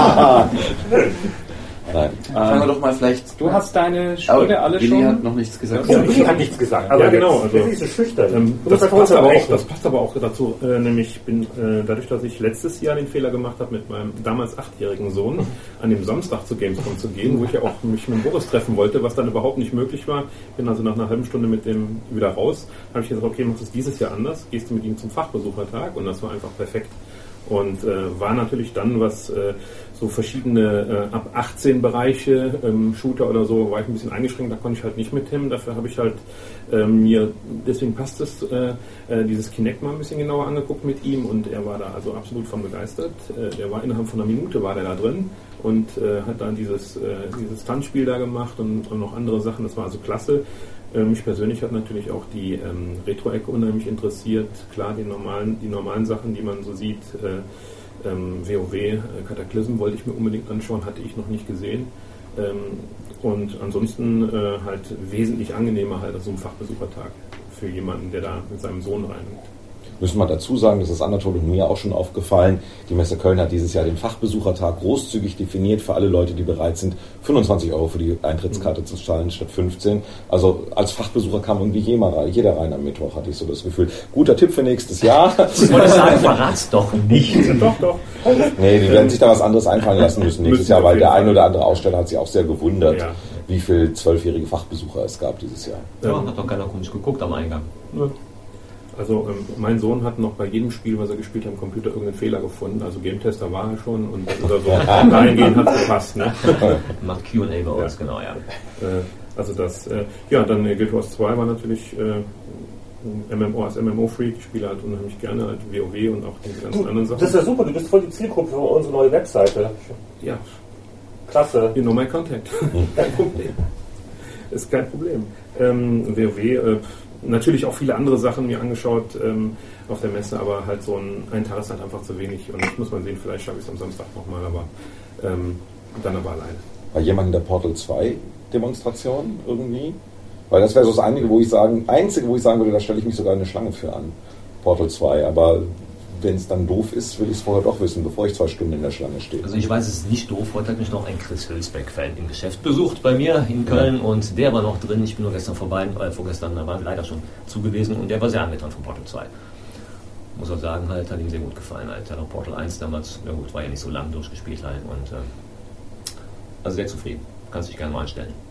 Nein. Fangen wir doch mal vielleicht. Du hast deine Spiele alle Willi schon. Willi hat noch nichts gesagt. Ja, Willi hat nichts gesagt. Aber ja, genau. Also, das ist so schüchtern. Ähm, das, das, passt aber auch, das passt aber auch dazu. Äh, nämlich bin äh, dadurch, dass ich letztes Jahr den Fehler gemacht habe, mit meinem damals achtjährigen Sohn an dem Samstag zu Gamescom zu gehen, wo ich ja auch mich mit Boris treffen wollte, was dann überhaupt nicht möglich war. Bin also nach einer halben Stunde mit dem wieder raus. Habe ich gesagt, okay, machst du es dieses Jahr anders. Gehst du mit ihm zum Fachbesuchertag, und das war einfach perfekt. Und äh, war natürlich dann, was äh, so verschiedene äh, ab achtzehn Bereiche, ähm, Shooter oder so, war ich ein bisschen eingeschränkt, da konnte ich halt nicht mit Tim. Dafür habe ich halt äh, mir, deswegen passt es, äh, äh, dieses Kinect mal ein bisschen genauer angeguckt mit ihm, und er war da also absolut von begeistert. Äh, der war innerhalb von einer Minute war der da drin und äh, hat dann dieses, äh, dieses Tanzspiel da gemacht und, und noch andere Sachen, das war also klasse. Mich persönlich hat natürlich auch die ähm, Retro-Ecke unheimlich interessiert. Klar, die normalen, die normalen Sachen, die man so sieht, äh, ähm, WoW, äh, Cataclysm wollte ich mir unbedingt anschauen, hatte ich noch nicht gesehen. Ähm, und ansonsten äh, halt wesentlich angenehmer halt als so ein Fachbesuchertag für jemanden, der da mit seinem Sohn reingeht. Müssen wir dazu sagen, das ist Anatol und mir auch schon aufgefallen, die Messe Köln hat dieses Jahr den Fachbesuchertag großzügig definiert für alle Leute, die bereit sind, fünfundzwanzig Euro für die Eintrittskarte zu zahlen statt fünfzehn. Also als Fachbesucher kam irgendwie jeder rein am Mittwoch, hatte ich so das Gefühl. Guter Tipp für nächstes Jahr. Ich wollte sagen, verrat's doch nicht. Doch, doch. Nee, die werden sich da was anderes einfallen lassen müssen nächstes Jahr, weil der ein oder andere Aussteller hat sich auch sehr gewundert, ja, wie viele zwölfjährige Fachbesucher es gab dieses Jahr. Ja, hat doch keiner komisch geguckt am Eingang. Ja. Also ähm, mein Sohn hat noch bei jedem Spiel, was er gespielt hat, am Computer irgendeinen Fehler gefunden. Also Game-Tester war er schon, und oder so. Dahingehend hat es gepasst. Ne? Macht Q und A bei uns, ja. Genau, ja. Äh, also das, äh, ja, dann äh, Guild Wars zwei war natürlich äh, M M O als M M O-Freak. Ich spiele halt unheimlich gerne halt WoW und auch diese ganzen du, anderen Sachen. Das ist ja super, du bist voll die Zielgruppe für unsere neue Webseite. Ja. Klasse. You know my contact. Kein Problem. Ist kein Problem. Ähm, WoW, äh, natürlich auch viele andere Sachen mir angeschaut ähm, auf der Messe, aber halt so ein, ein Tag ist halt einfach zu wenig, und das muss man sehen, vielleicht schaffe ich es am Samstag nochmal, aber ähm, dann aber alleine. War jemand in der Portal zwei Demonstration irgendwie? Weil das wäre so das Einzige, wo ich sagen, einzige, wo ich sagen würde, da stelle ich mich sogar eine Schlange für an. Portal zwei, aber wenn es dann doof ist, will ich es vorher doch wissen, bevor ich zwei Stunden in der Schlange stehe. Also ich weiß, es ist nicht doof. Heute hat mich noch ein Chris Hülsbeck-Fan im Geschäft besucht bei mir in Köln, ja, und der war noch drin. Ich bin nur gestern vorbei, äh, vorgestern, da war leider schon zu gewesen, und der war sehr angetan von Portal zwei. Muss auch sagen, halt, hat ihm sehr gut gefallen. Halt. Er hat auch Portal eins damals, na gut, war ja nicht so lang durchgespielt halt, und äh, also sehr zufrieden. Kannst dich gerne mal anstellen.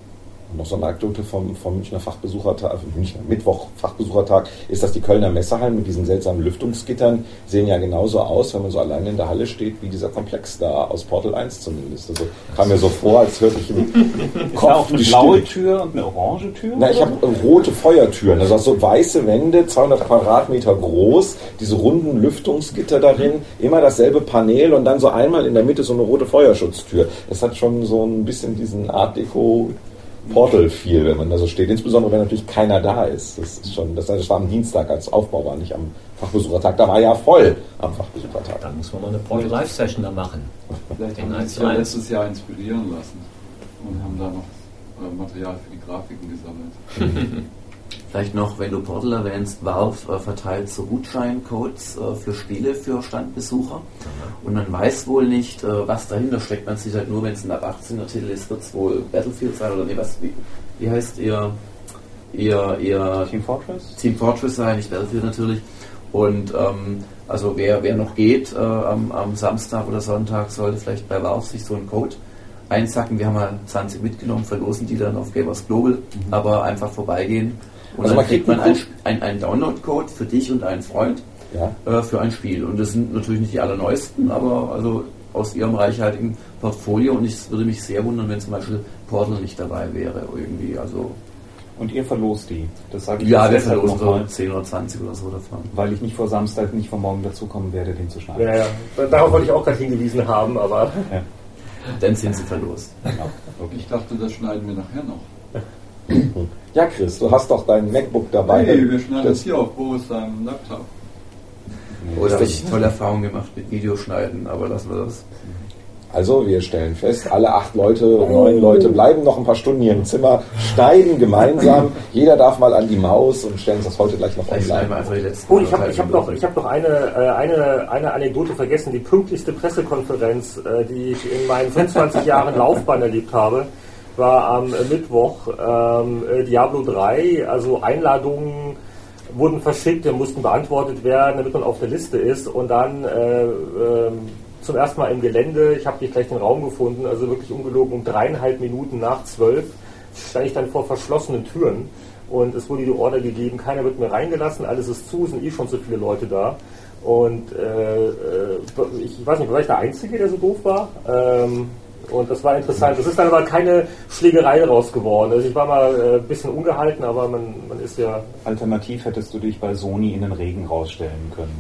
Noch so eine Anekdote vom, vom Münchner Fachbesuchertag, also Münchner Mittwoch Fachbesuchertag, ist, dass die Kölner Messehallen mit diesen seltsamen Lüftungsgittern sehen ja genauso aus, wenn man so alleine in der Halle steht, wie dieser Komplex da aus Portal eins zumindest. Also kam mir so vor, als hörte ich im Kopf. Ist da auch eine blaue Tür und eine orange Tür? Na, ich habe rote Feuertüren, also so weiße Wände, zweihundert Quadratmeter groß, diese runden Lüftungsgitter darin, immer dasselbe Panel und dann so einmal in der Mitte so eine rote Feuerschutztür. Das hat schon so ein bisschen diesen Art Deco Portal viel, wenn man da so steht, insbesondere wenn natürlich keiner da ist. Das ist schon, das, das war am Dienstag, als Aufbau war, nicht am Fachbesuchertag. Da war ja voll am Fachbesuchertag. Dann muss man mal eine Portal Live Session da machen. Vielleicht haben wir uns ja letztes Jahr inspirieren lassen und haben da noch äh, Material für die Grafiken gesammelt. Vielleicht noch, wenn du Portal erwähnst, Valve äh, verteilt so Gutscheincodes äh, für Spiele für Standbesucher. Mhm. Und man weiß wohl nicht, äh, was dahinter steckt. Man sieht halt nur, wenn es ein ab achtzehner Titel ist, wird es wohl Battlefield sein oder nee, was, wie, wie heißt ihr, ihr, ihr Team Fortress? Team Fortress sein, nicht Battlefield natürlich. Und ähm, also wer, wer noch geht äh, am, am Samstag oder Sonntag, sollte vielleicht bei Valve sich so einen Code einsacken. Wir haben mal zwanzig mitgenommen, verlosen die dann auf Gamers Global, mhm. aber einfach vorbeigehen. Und also dann kriegt man einen ein, ein Download-Code für dich und einen Freund ja. äh, für ein Spiel. Und das sind natürlich nicht die allerneuesten, aber also aus ihrem reichhaltigen Portfolio. Und es würde mich sehr wundern, wenn zum Beispiel Portal nicht dabei wäre irgendwie. Also und ihr verlost die? Das sage ich ja, wir verlosen so zehn oder zwanzig oder so davon. Weil ich nicht vor Samstag, nicht vor morgen dazukommen werde, den zu schneiden. Ja, ja. Darauf wollte ich auch gerade hingewiesen haben, aber... Ja. Dann sind sie verlost. Genau. Okay. Ich dachte, das schneiden wir nachher noch. Ja, Chris, du hast doch dein MacBook dabei. Nee, wir schneiden das hier auf Boris seinem Laptop. Oh, da habe ich tolle Erfahrungen gemacht mit Videoschneiden, aber lassen wir das. Also, wir stellen fest, alle acht Leute, neun Leute bleiben noch ein paar Stunden hier im Zimmer, schneiden gemeinsam. Jeder darf mal an die Maus und stellen das heute gleich noch online. Oh, ich habe ich hab noch, ich hab noch eine, eine, eine Anekdote vergessen. Die pünktlichste Pressekonferenz, die ich in meinen fünfundzwanzig Jahren Laufbahn erlebt habe, war am Mittwoch ähm, Diablo drei, also Einladungen wurden verschickt, die mussten beantwortet werden, damit man auf der Liste ist und dann äh, äh, zum ersten Mal im Gelände, ich habe nicht gleich den Raum gefunden, also wirklich ungelogen um dreieinhalb Minuten nach zwölf stand ich dann vor verschlossenen Türen und es wurde die Order gegeben, keiner wird mehr reingelassen, alles ist zu, sind eh schon so viele Leute da und äh, ich weiß nicht, war ich der Einzige, der so doof war? Ähm, Und das war interessant. Das ist dann aber keine Schlägerei raus geworden. Also ich war mal ein äh, bisschen ungehalten, aber man, man ist ja... Alternativ hättest du dich bei Sony in den Regen rausstellen können.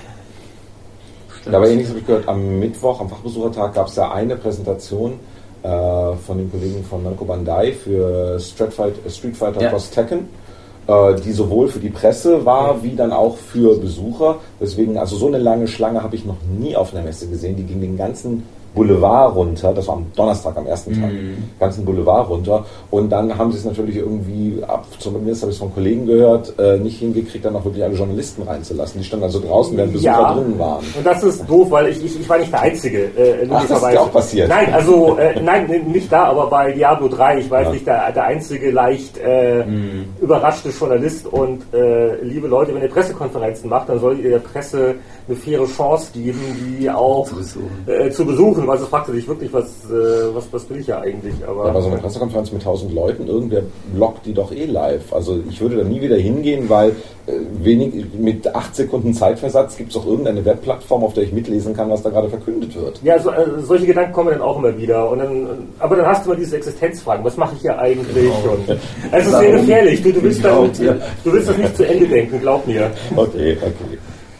Ja, aber ähnliches habe ich gehört, am Mittwoch, am Fachbesuchertag, gab es ja eine Präsentation äh, von den Kollegen von Namco Bandai für Street Fighter, Street Fighter ja. Cross Tekken, äh, die sowohl für die Presse war, wie dann auch für Besucher. Deswegen, also so eine lange Schlange habe ich noch nie auf einer Messe gesehen, die ging den ganzen Boulevard runter, das war am Donnerstag, am ersten Tag, mhm. ganzen Boulevard runter und dann haben sie es natürlich irgendwie, ab, zumindest habe ich es von Kollegen gehört, äh, nicht hingekriegt, dann auch wirklich alle Journalisten reinzulassen. Die standen also draußen, während Besucher ja. drinnen waren. Und das ist doof, weil ich, ich, ich war nicht der Einzige. Äh, Ach, das ist ja auch passiert. Nein, also, äh, nein, nicht da, aber bei Diablo drei, ich war ja. nicht der, der einzige leicht äh, mhm. überraschte Journalist und äh, liebe Leute, wenn ihr Pressekonferenzen macht, dann solltet ihr der Presse eine faire Chance geben, die auch zu besuchen. Äh, zu besuchen. Also fragte sich wirklich, was, äh, was, was will ich ja eigentlich. Aber, ja, aber so eine Pressekonferenz mit tausend Leuten, irgendwer blockt die doch eh live. Also ich würde da nie wieder hingehen, weil äh, wenig, mit acht Sekunden Zeitversatz gibt es doch irgendeine Webplattform, auf der ich mitlesen kann, was da gerade verkündet wird. Ja, so, äh, solche Gedanken kommen dann auch immer wieder. Und dann, aber dann hast du mal diese Existenzfragen. Was mache ich hier eigentlich? Genau. Und, also es ist sehr gefährlich. Du, du, willst dann, du willst das nicht zu Ende denken, glaub mir. Okay, okay.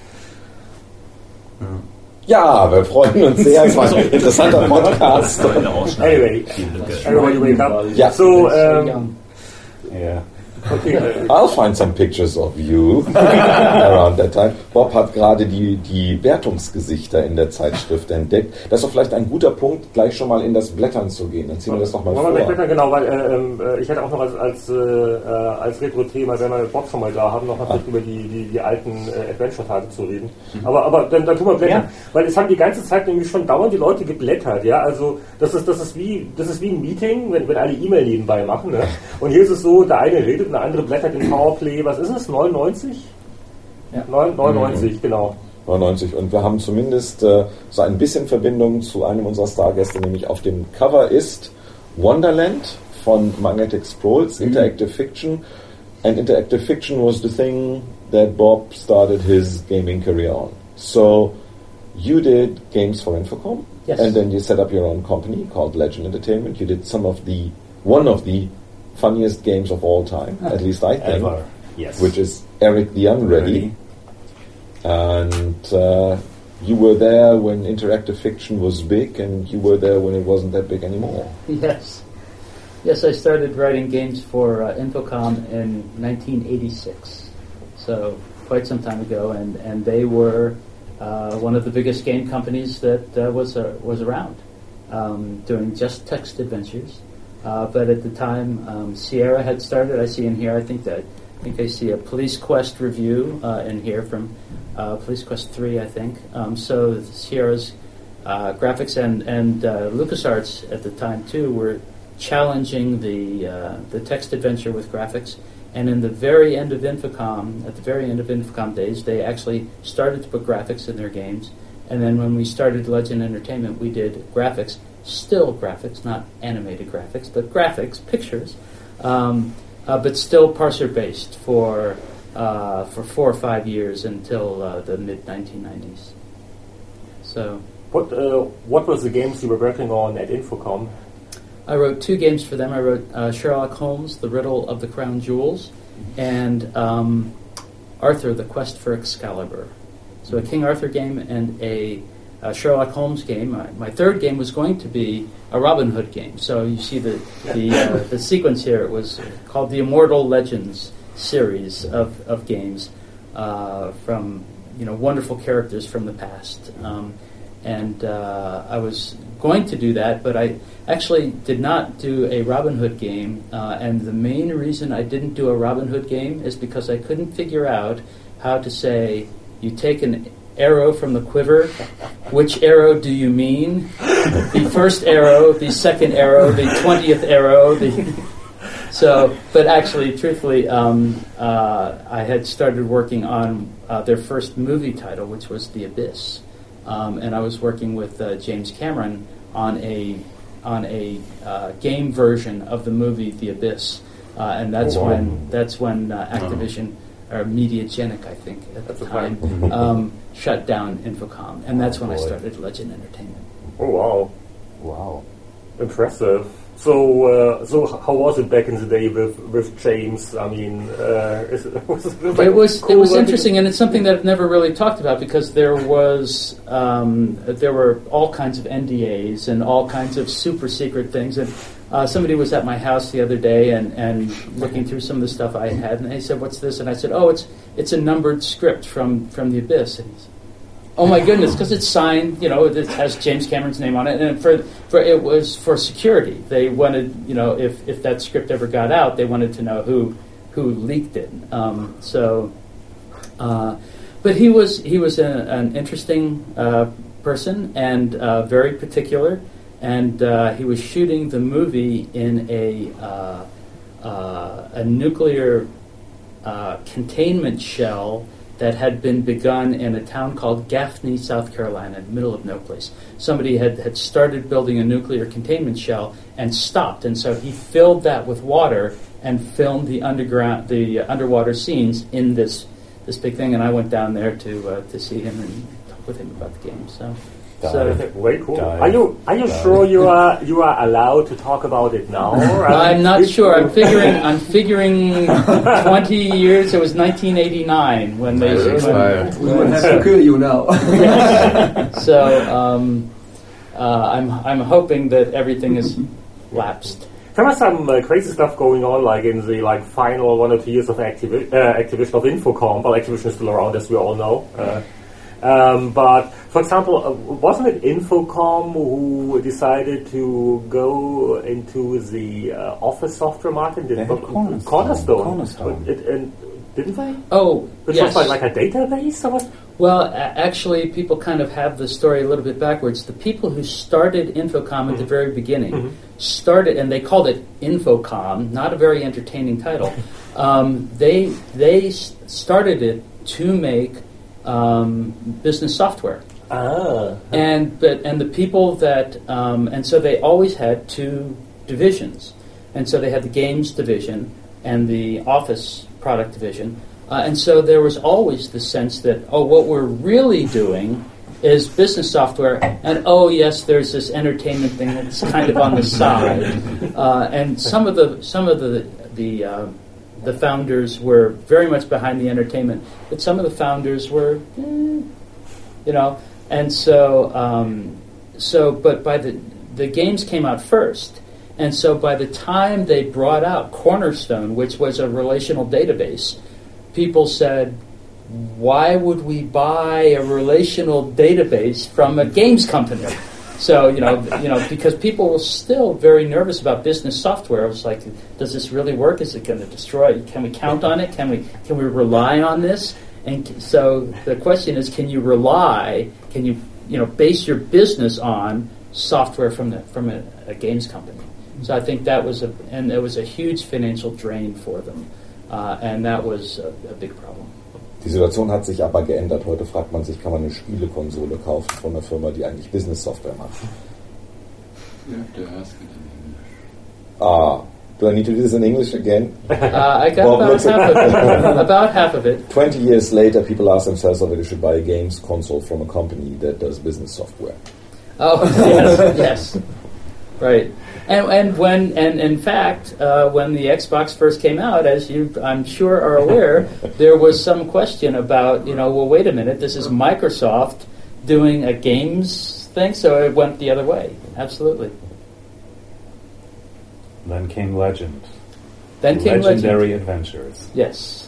Ja, wir freuen uns sehr. Es war ein interessanter Podcast. Anyway, everybody wake up. Ja. So, um, yeah. Okay. I'll find some pictures of you around that time. Bob hat gerade die, die Wertungsgesichter in der Zeitschrift entdeckt. Das ist doch vielleicht ein guter Punkt, gleich schon mal in das Blättern zu gehen. Dann ziehen wir das noch mal vor. Wir Blättern, genau, weil äh, ich hätte auch noch als, als, äh, als Retro-Thema, wenn wir mit Bob schon mal da haben, noch mal ah. über die, die, die alten äh, Adventure-Tage zu reden. Mhm. Aber, aber dann, dann tun wir Blättern. Ja. Weil es haben die ganze Zeit nämlich schon dauernd die Leute geblättert. Ja? Also das ist, das, ist wie, das ist wie ein Meeting, wenn, wenn alle E-Mail nebenbei machen. Ne? Und hier ist es so, der eine redet, der andere blättert in Powerplay, was ist es, neunundneunzig? Ja. neunundneunzig, mhm. genau. neunundneunzig und wir haben zumindest äh, so ein bisschen Verbindung zu einem unserer Stargäste, nämlich auf dem Cover ist Wonderland von Magnetic Scrolls, Mhm. Interactive Fiction, and Interactive Fiction was the thing that Bob started his gaming career on. So you did games for Infocom, Yes. and then you set up your own company called Legend Entertainment. You did some of the, one of the funniest games of all time, at least I think, Ever. Yes. which is Eric the Unready. And uh, you were there when Interactive Fiction was big, and you were there when it wasn't that big anymore. Yes. Yes, I started writing games for uh, Infocom in nineteen eighty-six, so quite some time ago, and, and they were uh, one of the biggest game companies that uh, was uh, was around, um, doing just text adventures. Uh, but at the time, um, Sierra had started. I see in here, I think that I think I see a Police Quest review uh, in here from uh, Police Quest three, I think. Um, so Sierra's uh, graphics and and uh, LucasArts at the time too were challenging the uh, the text adventure with graphics. And in the very end of Infocom, at the very end of Infocom days, they actually started to put graphics in their games. And then when we started Legend Entertainment, we did graphics, still graphics, not animated graphics, but graphics, pictures, um, uh, but still parser-based for uh, for four or five years until uh, the mid nineteen nineties. So, What uh, what was the games you were working on at Infocom? I wrote two games for them. I wrote uh, Sherlock Holmes, The Riddle of the Crown Jewels, and um, Arthur, The Quest for Excalibur. So a King Arthur game and a, a Sherlock Holmes game. My, my third game was going to be a Robin Hood game. So you see the the, uh, the sequence here. It was called the Immortal Legends series of, of games uh, from you know wonderful characters from the past. Um, and uh, I was going to do that, but I actually did not do a Robin Hood game. Uh, and the main reason I didn't do a Robin Hood game is because I couldn't figure out how to say, you take an arrow from the quiver, which arrow do you mean? The first arrow, the second arrow, the twentieth arrow. The so, but actually, truthfully, um, uh, I had started working on uh, their first movie title, which was The Abyss. Um, and I was working with uh, James Cameron on a on a uh, game version of the movie The Abyss, uh, and that's Oh, wow. when that's when uh, Activision or Mediagenic, I think, at That's the the time, time. um, shut down Infocom, and that's when I boy. started Legend Entertainment. Oh wow, Wow. impressive. So, uh, so h- how was it back in the day with with James? I mean, uh, is it, was it, It was cool it was working- interesting, and it's something that I've never really talked about because there was um, there were all kinds of N D As and all kinds of super secret things. And uh, somebody was at my house the other day and, and looking through some of the stuff I had, and they said, "What's this?" And I said, "Oh, it's it's a numbered script from from The Abyss." And he said, "Oh my goodness!" Because it's signed, you know, it has James Cameron's name on it, and for for it was for security. They wanted, you know, if, if that script ever got out, they wanted to know who who leaked it. Um, so, uh, but he was he was a, an interesting uh, person and uh, very particular, and uh, he was shooting the movie in a uh, uh, a nuclear uh, containment shell that had been begun in a town called Gaffney, South Carolina, in the middle of no place. Somebody had, had started building a nuclear containment shell and stopped, and so he filled that with water and filmed the underground, the uh, underwater scenes in this this big thing. And I went down there to uh, to see him and talk with him about the game. So, so Very cool. Dive. Are you are you Dive. sure you are you are allowed to talk about it now? Or I'm not you- sure. I'm figuring. I'm figuring twenty years. It was nineteen eighty-nine when they. It's when- expired. We would have to kill you now. so um, uh, I'm I'm hoping that everything is lapsed. There was some uh, crazy stuff going on, like in the like final one or two years of Activi- uh, Activision of Infocom. Well, Activision is still around, as we all know. Uh, um, but for example, uh, wasn't it Infocom who decided to go into the uh, Office software market? They had Cornerstone. Cornerstone. Cornerstone. It, and didn't they? Oh, Which yes. was like, like a database or what? Well, a- actually, people kind of have the story a little bit backwards. The people who started Infocom at the very beginning started, and they called it Infocom, not a very entertaining title. Um, they they s- started it to make um, business software, Ah. and but and the people that um, and so they always had two divisions. And so they had the games division and the office product division. Uh, and so there was always the sense that, oh, what we're really doing is business software, and oh yes, there's this entertainment thing that's kind of on the side. Uh, and some of the some of the the uh, the founders were very much behind the entertainment, but some of the founders were, eh, you know, and so um, so. But by the the games came out first, and so by the time they brought out Cornerstone, which was a relational database, people said, why would we buy a relational database from a games company? So, you know, you know, because people were still very nervous about business software. It was like, does this really work? Is it going to destroy? Can we count on it? Can we can we rely on this? And so the question is, can you rely? Can you you know base your business on software from the from a, a games company? So I think that was a and it was a huge financial drain for them, uh, and that was a, a big problem. Die Situation hat sich aber geändert. Heute fragt man sich, kann man eine Spielekonsole kaufen von einer Firma, die eigentlich Business-Software macht? You have to ask it in English. Ah, do I need to do this in English again? Uh, I got Bob about half of it. About half of it. Twenty years later, people ask themselves whether they should buy a games console from a company that does business software. Oh, yes, yes. Right. And and when and in fact, uh, when the Xbox first came out, as you I'm sure are aware, there was some question about, you know, well, wait a minute, this is Microsoft doing a games thing, so it went the other way. Absolutely. Then came Legend. Then came Legendary Legend. Adventures. Yes.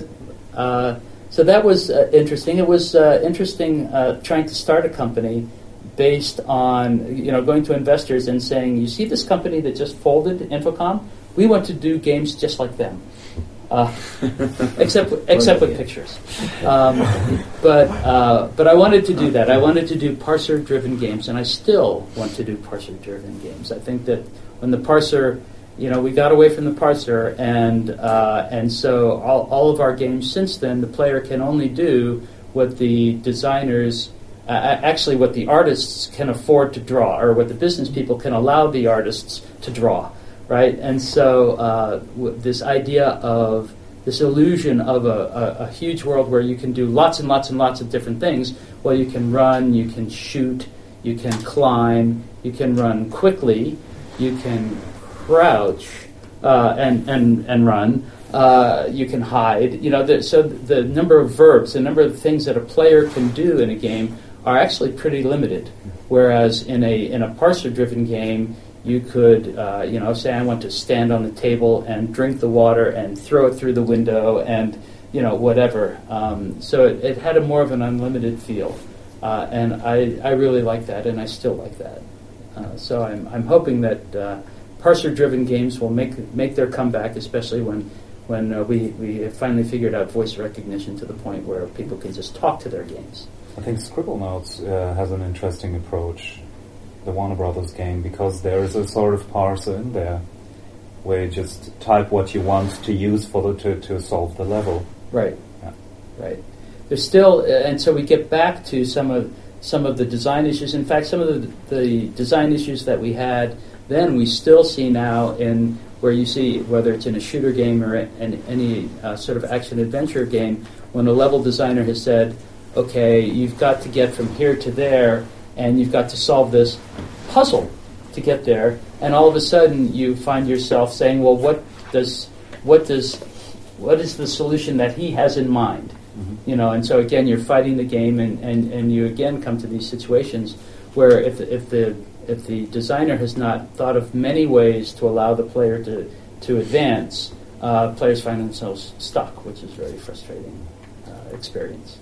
Uh, so that was uh, interesting. It was uh, interesting uh, trying to start a company based on, you know, going to investors and saying, you see this company that just folded, Infocom? We want to do games just like them, uh, except except with pictures. Um, but uh, but I wanted to do that. I wanted to do parser-driven games, and I still want to do parser-driven games. I think that when the parser, you know, we got away from the parser, and uh, and so all, all of our games since then, the player can only do what the designers. Uh, actually what the artists can afford to draw, or what the business people can allow the artists to draw, right? And so uh, w- this idea of this illusion of a, a, a huge world where you can do lots and lots and lots of different things. Well, you can run, you can shoot, you can climb, you can run quickly, you can crouch uh, and, and, and run. Uh, you can hide. You know, the, so the number of verbs, the number of things that a player can do in a game are actually pretty limited. Whereas in a in a parser-driven game, you could, uh, you know, say I want to stand on the table and drink the water and throw it through the window and, you know, whatever. Um, so it, it had a more of an unlimited feel, uh, and I, I really like that, and I still like that. Uh, so I'm I'm hoping that uh, parser-driven games will make make their comeback, especially when when uh, we we have finally figured out voice recognition to the point where people can just talk to their games. I think Scribblenauts uh, has an interesting approach, the Warner Brothers game, because there is a sort of parser in there where you just type what you want to use for the, to, to solve the level. Right. Yeah. Right. There's still, uh, and so we get back to some of some of the design issues. In fact, some of the, the design issues that we had then, we still see now in where you see, whether it's in a shooter game or in any uh, sort of action-adventure game, when a level designer has said, okay, you've got to get from here to there, and you've got to solve this puzzle to get there, and all of a sudden you find yourself saying, well, what does, what does, what is the solution that he has in mind? Mm-hmm. You know, and so again, you're fighting the game, and, and, and you again come to these situations where if if the if the designer has not thought of many ways to allow the player to to advance, uh, players find themselves stuck, which is a very frustrating uh, experience.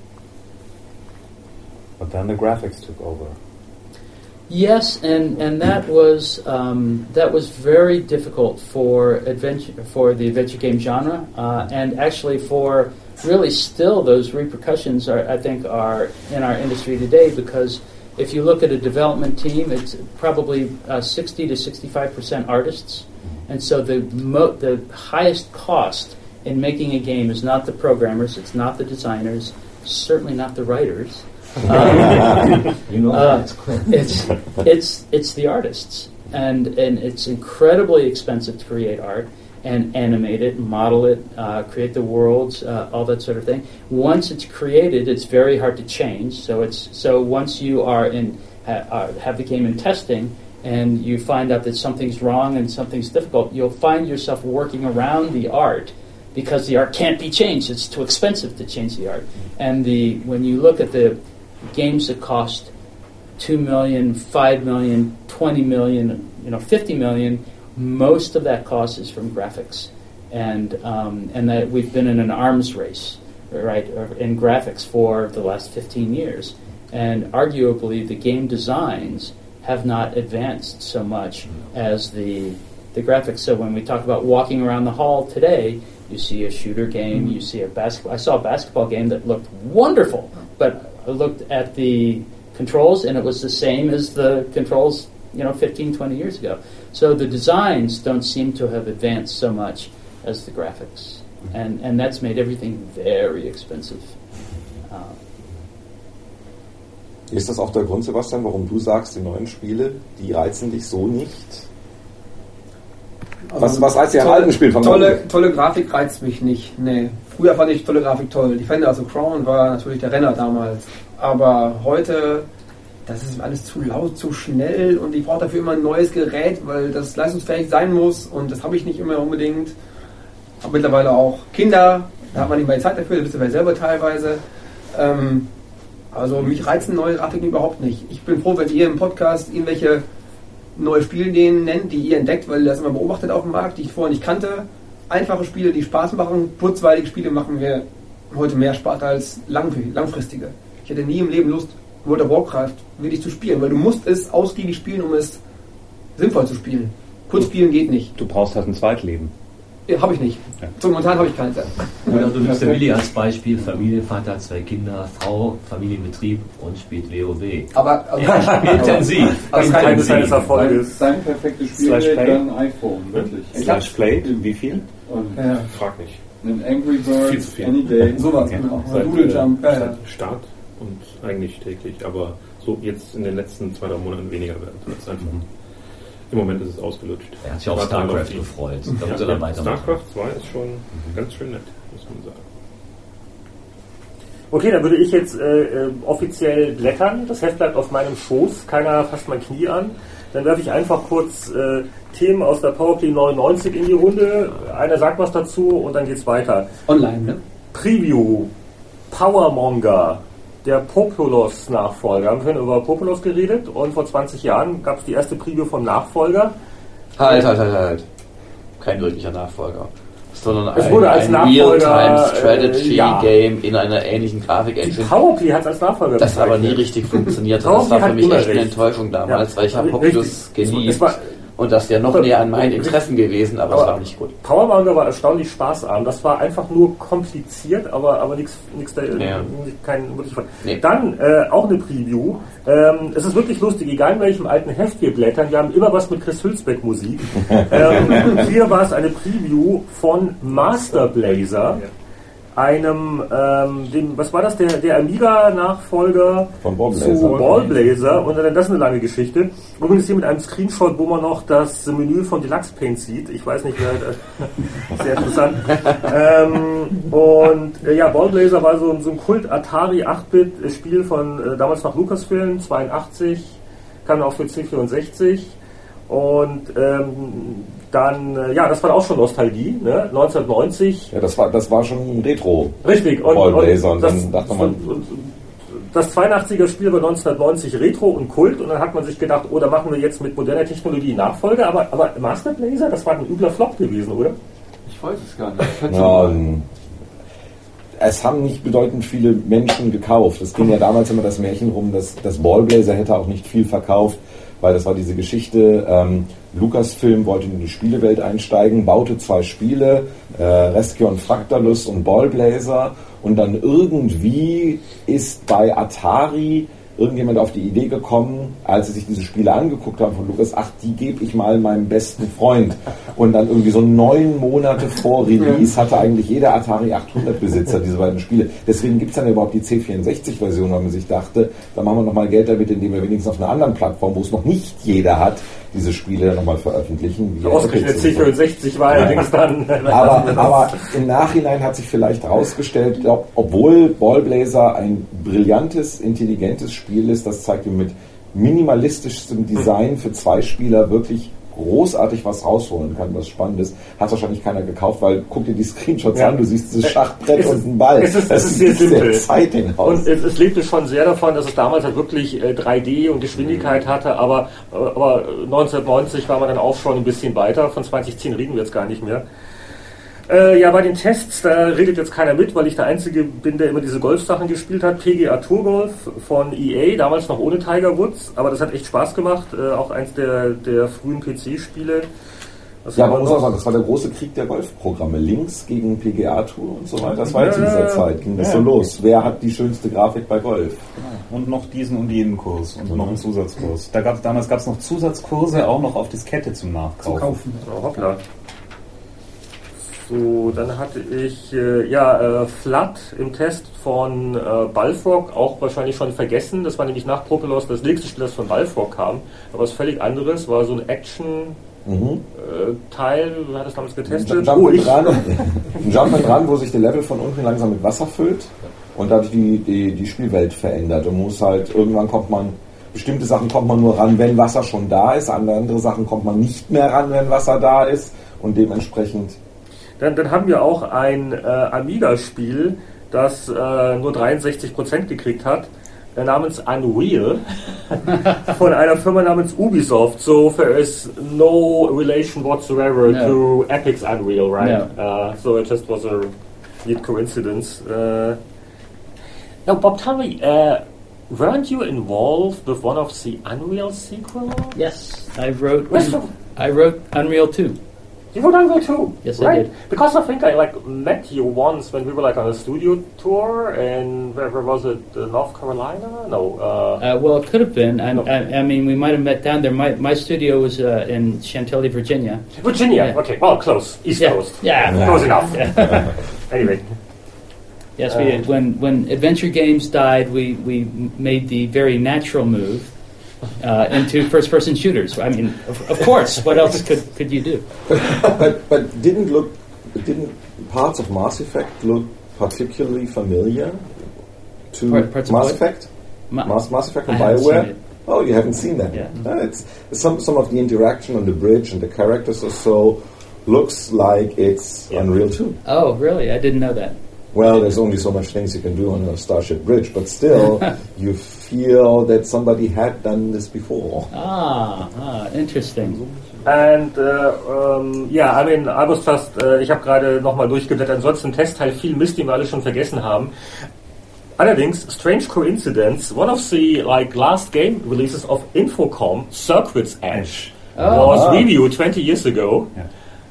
But then the graphics took over. Yes, and, and that was um, that was very difficult for adventure for the adventure game genre, uh, and actually for really still those repercussions are I think are in our industry today, because if you look at a development team, it's probably uh, sixty to sixty-five percent artists, and so the mo- the highest cost in making a game is not the programmers, it's not the designers, certainly not the writers. Um, you know uh, it's it's it's the artists, and and it's incredibly expensive to create art and animate it, model it, uh, create the worlds, uh, all that sort of thing. Once it's created, it's very hard to change. So it's so once you are in ha, uh, have the game in testing, and you find out that something's wrong and something's difficult, you'll find yourself working around the art because the art can't be changed. It's too expensive to change the art. And the when you look at the games that cost two million, five million, twenty million, you know, fifty million, most of that cost is from graphics, and um, and that we've been in an arms race, right, in graphics for the last fifteen years, and arguably the game designs have not advanced so much as the the graphics. So when we talk about walking around the hall today, you see a shooter game, you see a basketball. I saw a basketball game that looked wonderful, but I looked at the controls and it was the same as the controls, you know, fifteen, twenty years ago. So the designs don't seem to have advanced so much as the graphics, and and that's made everything very expensive. Uh, Ist das auch der Grund, Sebastian, warum du sagst, die neuen Spiele, die reizen dich so nicht? Also was, was reizt dich an alten Spielen? Tolle, tolle Grafik reizt mich nicht. Nee. Früher fand ich tolle Grafik toll. Die Defender, also Crown war natürlich der Renner damals. Aber heute, das ist alles zu laut, zu schnell und ich brauche dafür immer ein neues Gerät, weil das leistungsfähig sein muss und das habe ich nicht immer unbedingt. Aber mittlerweile auch Kinder, da hat man nicht mehr Zeit dafür, das wisst ihr ja selber teilweise. Ähm, also mich reizen neue Grafiken überhaupt nicht. Ich bin froh, wenn ihr im Podcast irgendwelche neue Spielideen nennt, die ihr entdeckt, weil ihr das immer beobachtet auf dem Markt, die ich vorher nicht kannte. Einfache Spiele, die Spaß machen, kurzweilige Spiele machen mir heute mehr Spaß als langfristige. Ich hätte nie im Leben Lust, World of Warcraft wirklich zu spielen, weil du musst es ausgiebig spielen, um es sinnvoll zu spielen. Kurz spielen geht nicht. Du brauchst halt ein Zweitleben. Ja, habe ich nicht. Ja. So momentan habe ich keins. Oder du nimmst der Willi als Beispiel, Familie, Vater, zwei Kinder, Frau, Familienbetrieb und spielt WoW. Aber also ja, spielt intensiv. Aber das kann seines Erfolges. Sein perfektes Spiel wäre dann iPhone, wirklich. Slash Play, wie viel? Und ja. Frag nicht. Ein Angry Birds, Any Day. Sowas, genau. Doodle Jump. Ja, ja. Start und eigentlich täglich, aber so jetzt in den letzten zwei, drei Monaten weniger werden. Das ist einfach. Mhm. Im Moment ist es ausgelutscht. Er hat sich auf StarCraft gefreut. Da ja, muss er dann weitermachen. StarCraft zwei ist schon mhm. ganz schön nett, muss man sagen. Okay, dann würde ich jetzt äh, äh, offiziell blättern. Das Heft bleibt auf meinem Schoß. Keiner fasst mein Knie an. Dann werfe ich einfach kurz äh, Themen aus der PowerPlay neunundneunzig in die Runde. Einer sagt was dazu und dann geht's weiter. Online, ne? Preview. Powermonger. Der Populous-Nachfolger. Wir haben vorhin über Populous geredet und vor zwanzig Jahren gab es die erste Preview vom Nachfolger. Halt, halt, halt, halt. Kein wirklicher Nachfolger. Sondern es ein, wurde als ein Nachfolger, Real-Time-Strategy-Game äh, ja. in einer ähnlichen Grafik-Engine. Die Powerplay hat es als Nachfolger Das aber nie richtig funktioniert hat. Das war für mich echt eine Enttäuschung damals, ja, weil ich habe Populous geliebt. Und das wäre noch näher an meinen Interessen gewesen, aber, aber es war nicht gut. Powermonger war erstaunlich spaßarm. Das war einfach nur kompliziert, aber, aber nichts da, ja. kein wirklich von. Nee. Dann äh, auch eine Preview. Ähm, es ist wirklich lustig, egal in welchem alten Heft wir blättern, wir haben immer was mit Chris Hülsbeck Musik. ähm, hier war es eine Preview von Master Blazer. Ja. Einem, ähm, dem, was war das, der, der Amiga-Nachfolger von Ballblazer. zu Ballblazer und dann das ist eine lange Geschichte. Übrigens hier mit einem Screenshot, wo man noch das Menü von Deluxe Paint sieht. Ich weiß nicht, wer, sehr interessant. ähm, und äh, ja, Ballblazer war so, so ein Kult Atari acht Bit Spiel von äh, damals noch Lucasfilm, zweiundachtzig, kam auch für C vierundsechzig. Und ähm, dann, äh, ja, das war auch schon Nostalgie, ne? neunzehnhundertneunzig. Ja, das war, das war schon Retro. Richtig. Und, Ballblazer. Und, und dann dachte man, und, und, das zweiundachtziger Spiel war neunzehnhundertneunzig Retro und Kult und dann hat man sich gedacht, oh, da machen wir jetzt mit moderner Technologie Nachfolger, aber, aber Master Blazer, das war ein übler Flop gewesen, oder? Ich weiß es gar nicht. Ja, es haben nicht bedeutend viele Menschen gekauft. Es ging ja damals immer das Märchen rum, dass das Ballblazer hätte auch nicht viel verkauft, weil das war diese Geschichte, ähm, Lucasfilm wollte in die Spielewelt einsteigen, baute zwei Spiele, äh, Rescue und Fractalus und Ballblazer und dann irgendwie ist bei Atari irgendjemand auf die Idee gekommen, als sie sich diese Spiele angeguckt haben von Lucas, ach, die gebe ich mal meinem besten Freund. Und dann irgendwie so neun Monate vor Release hatte eigentlich jeder Atari achthundert Besitzer diese beiden Spiele. Deswegen gibt es dann überhaupt die C vierundsechzig-Version, weil man sich dachte, da machen wir nochmal Geld damit, indem wir wenigstens auf einer anderen Plattform, wo es noch nicht jeder hat, diese Spiele nochmal veröffentlichen. Ausgerechnet C vierundsechzig war allerdings dann. Aber, aber im Nachhinein hat sich vielleicht herausgestellt, obwohl Ballblazer ein brillantes, intelligentes Spiel ist, das zeigt, wie mit minimalistischem Design für zwei Spieler wirklich großartig was rausholen kann, was spannend ist, hat wahrscheinlich keiner gekauft, weil guck dir die Screenshots ja. an, du siehst dieses Schachbrett und einen Ball. Es ist, das es ist sehr simpel. Exciting aus. Und es, es lebte schon sehr davon, dass es damals halt wirklich äh, drei D und Geschwindigkeit hatte, aber, aber neunzehnhundertneunzig war man dann auch schon ein bisschen weiter, von zwanzig zehn reden wir jetzt gar nicht mehr. Äh, ja, bei den Tests, da redet jetzt keiner mit, weil ich der Einzige bin, der immer diese Golfsachen gespielt hat. P G A Tour Golf von E A, damals noch ohne Tiger Woods, aber das hat echt Spaß gemacht, äh, auch eins der, der frühen P C-Spiele. Ja, aber muss man sagen, das war der große Krieg der Golfprogramme. Links gegen P G A Tour und so weiter. Das war jetzt in dieser Zeit, ging das ja so los. Wer hat die schönste Grafik bei Golf? Und noch diesen und jenen Kurs und mhm. noch einen Zusatzkurs. Da gab's, damals gab es noch Zusatzkurse auch noch auf Diskette zum Nachkaufen. Zu kaufen. Oh, hoppla. So, dann hatte ich äh, ja äh, Flood im Test von äh, Balfrog, auch wahrscheinlich schon vergessen. Das war nämlich nach Propelos das nächste Spiel, das von Balfrog kam. Aber was völlig anderes, war so ein Action mhm. äh, Teil, wer hat das damals getestet? Jump oh, ich. Run, ein Jump and Run, wo sich der Level von unten langsam mit Wasser füllt und dadurch die, die, die Spielwelt verändert. Und muss halt, irgendwann kommt man, bestimmte Sachen kommt man nur ran, wenn Wasser schon da ist, an andere Sachen kommt man nicht mehr ran, wenn Wasser da ist und dementsprechend. Dann, dann haben wir auch ein äh, Amiga-Spiel, das äh, nur dreiundsechzig Prozent gekriegt hat, äh, namens Unreal, von einer Firma namens Ubisoft. So there is no relation whatsoever no. to Epic's Unreal, right? No. Uh, so it just was a weird coincidence. Uh, now, Bob, tell me, uh, weren't you involved with one of the Unreal sequels? Yes, I wrote. I wrote Unreal two. You wrote Unreal two? Yes, right? I did. Because I think I like met you once when we were like on a studio tour, and where, where was it? Uh, North Carolina? No. Uh, uh, well, it could have been. I, no. I, I mean, we might have met down there. My my studio was uh, in Chantilly, Virginia. Virginia. Yeah. Okay. Well, close. East yeah. Coast. Yeah. yeah. Close enough. Yeah. Anyway. Yes, we did. When when Adventure Games died, we we made the very natural move. Uh, into first-person shooters. I mean, of, of course. What else could, could you do? but but didn't look didn't parts of Mass Effect look particularly familiar to Part, parts Mass of Effect? Ma- Mass Mass Effect from I BioWare. Oh, you haven't seen that? Yeah. No, it's some some of the interaction on the bridge and the characters or so looks like it's yeah. Unreal two. Oh, really? I didn't know that. Well, there's only so much things you can do on a Starship Bridge, but still, you feel that somebody had done this before. Ah, ah interesting. And, uh, um, yeah, I mean, I was just, uh, ich habe gerade nochmal durchgeblättert, ansonsten ein Testteil, viel Mist, den wir alle schon vergessen haben. Allerdings, strange coincidence, one of the, like, last game releases of Infocom, Circuit's Edge, oh, was wow. reviewed twenty years ago. Yeah.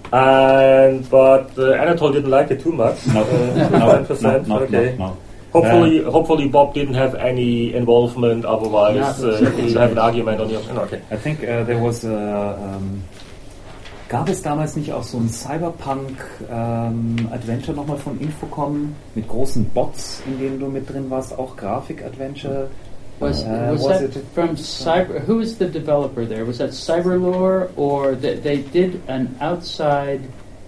And but uh, Anatole didn't like it too much. No, uh, no, ten percent. no, no, okay. No, no. Hopefully, uh, hopefully Bob didn't have any involvement. Otherwise, uh, you'll have an argument on your. No, okay. I think uh, there was a. Um, gab es damals nicht auch so ein Cyberpunk-Adventure ähm, nochmal von Infocom mit großen Bots, in denen du mit drin warst, auch Grafik-Adventure? Was, uh, was, was that it from Cyber? Who was the developer there? Was that Cyberlore, or they, they did an outside?